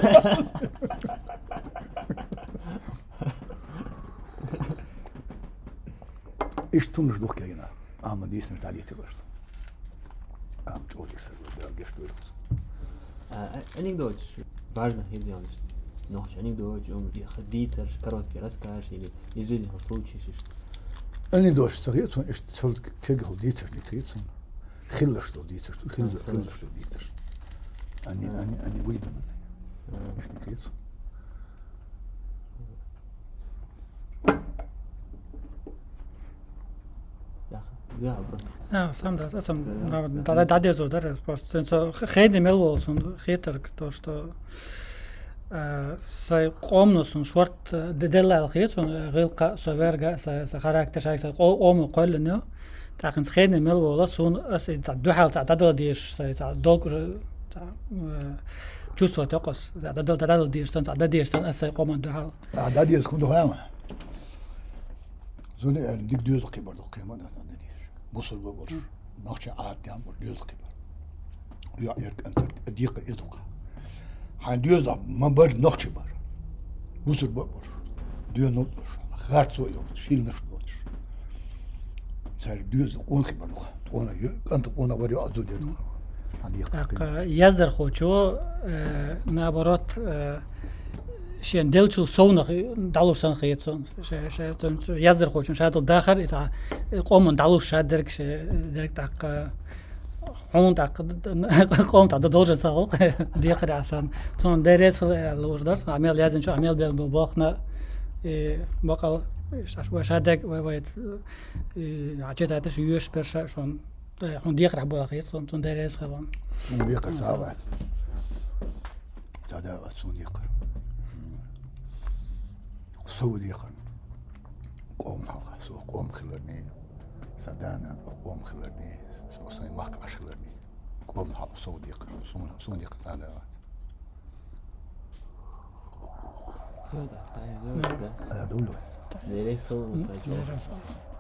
إيش تونش دوك كينا أما ديسن تعليق تبرز أم تقولي سر درجش دويرز أنيك دوج بارنا هيدي عنش نوش أنيك دوج خديتر كروت كراسكاش يجيني هالصوت شيء أني دوش صغيرتون إيش تقول كيجو ديتر نتريتون خلش دو ديتر خلش دو ديتر أني ويدا من إيش نتريتون Ja, sam da sam da dezo da sen so khayde melvolsun khayter to što sai qomnosun short delal khaytun gilqa soverga sa karakter shaysa qomu qollno taqin khayde melvola sun as duhal ta dish sa dog ta чувство токос да дирсан да дирсан as qomon duhal da diz kundu hayama zone dik diyor kibar do qiyma da بوصل بقول نقش عاد يعني يلقي يا أنت ديق يدوق حين يوزع ما بر نقش بر بوصل بقول ديو نقش خارج سوي شيل نقش صار ديوز قون خبر وانا أنت وانا وري أزود يدوق يزدر خوشو نابرات شين دلتشل سونغ دالو سان خيتون شاتون يزدر خوشن شادل داخل إذا قوم دالو شادرك درك تاق هون تاق قوم تاق دولجن ساق ديقر عسان تون درس لوجدر عمل لازم شو عمل بباقنا باقل شادك ويت عجيت هذا شو يوش برشا شون هون ديقر عبوا خيتون تون درس خلون ديقر ساعات تعدا تون ديقر سعودي قن قوم حلقة سو قوم خلرني سدانا قوم خلرني سو صاي مقعش خلرني قوم حلقة سعودي قن سعودي قن هذا هذا دولة.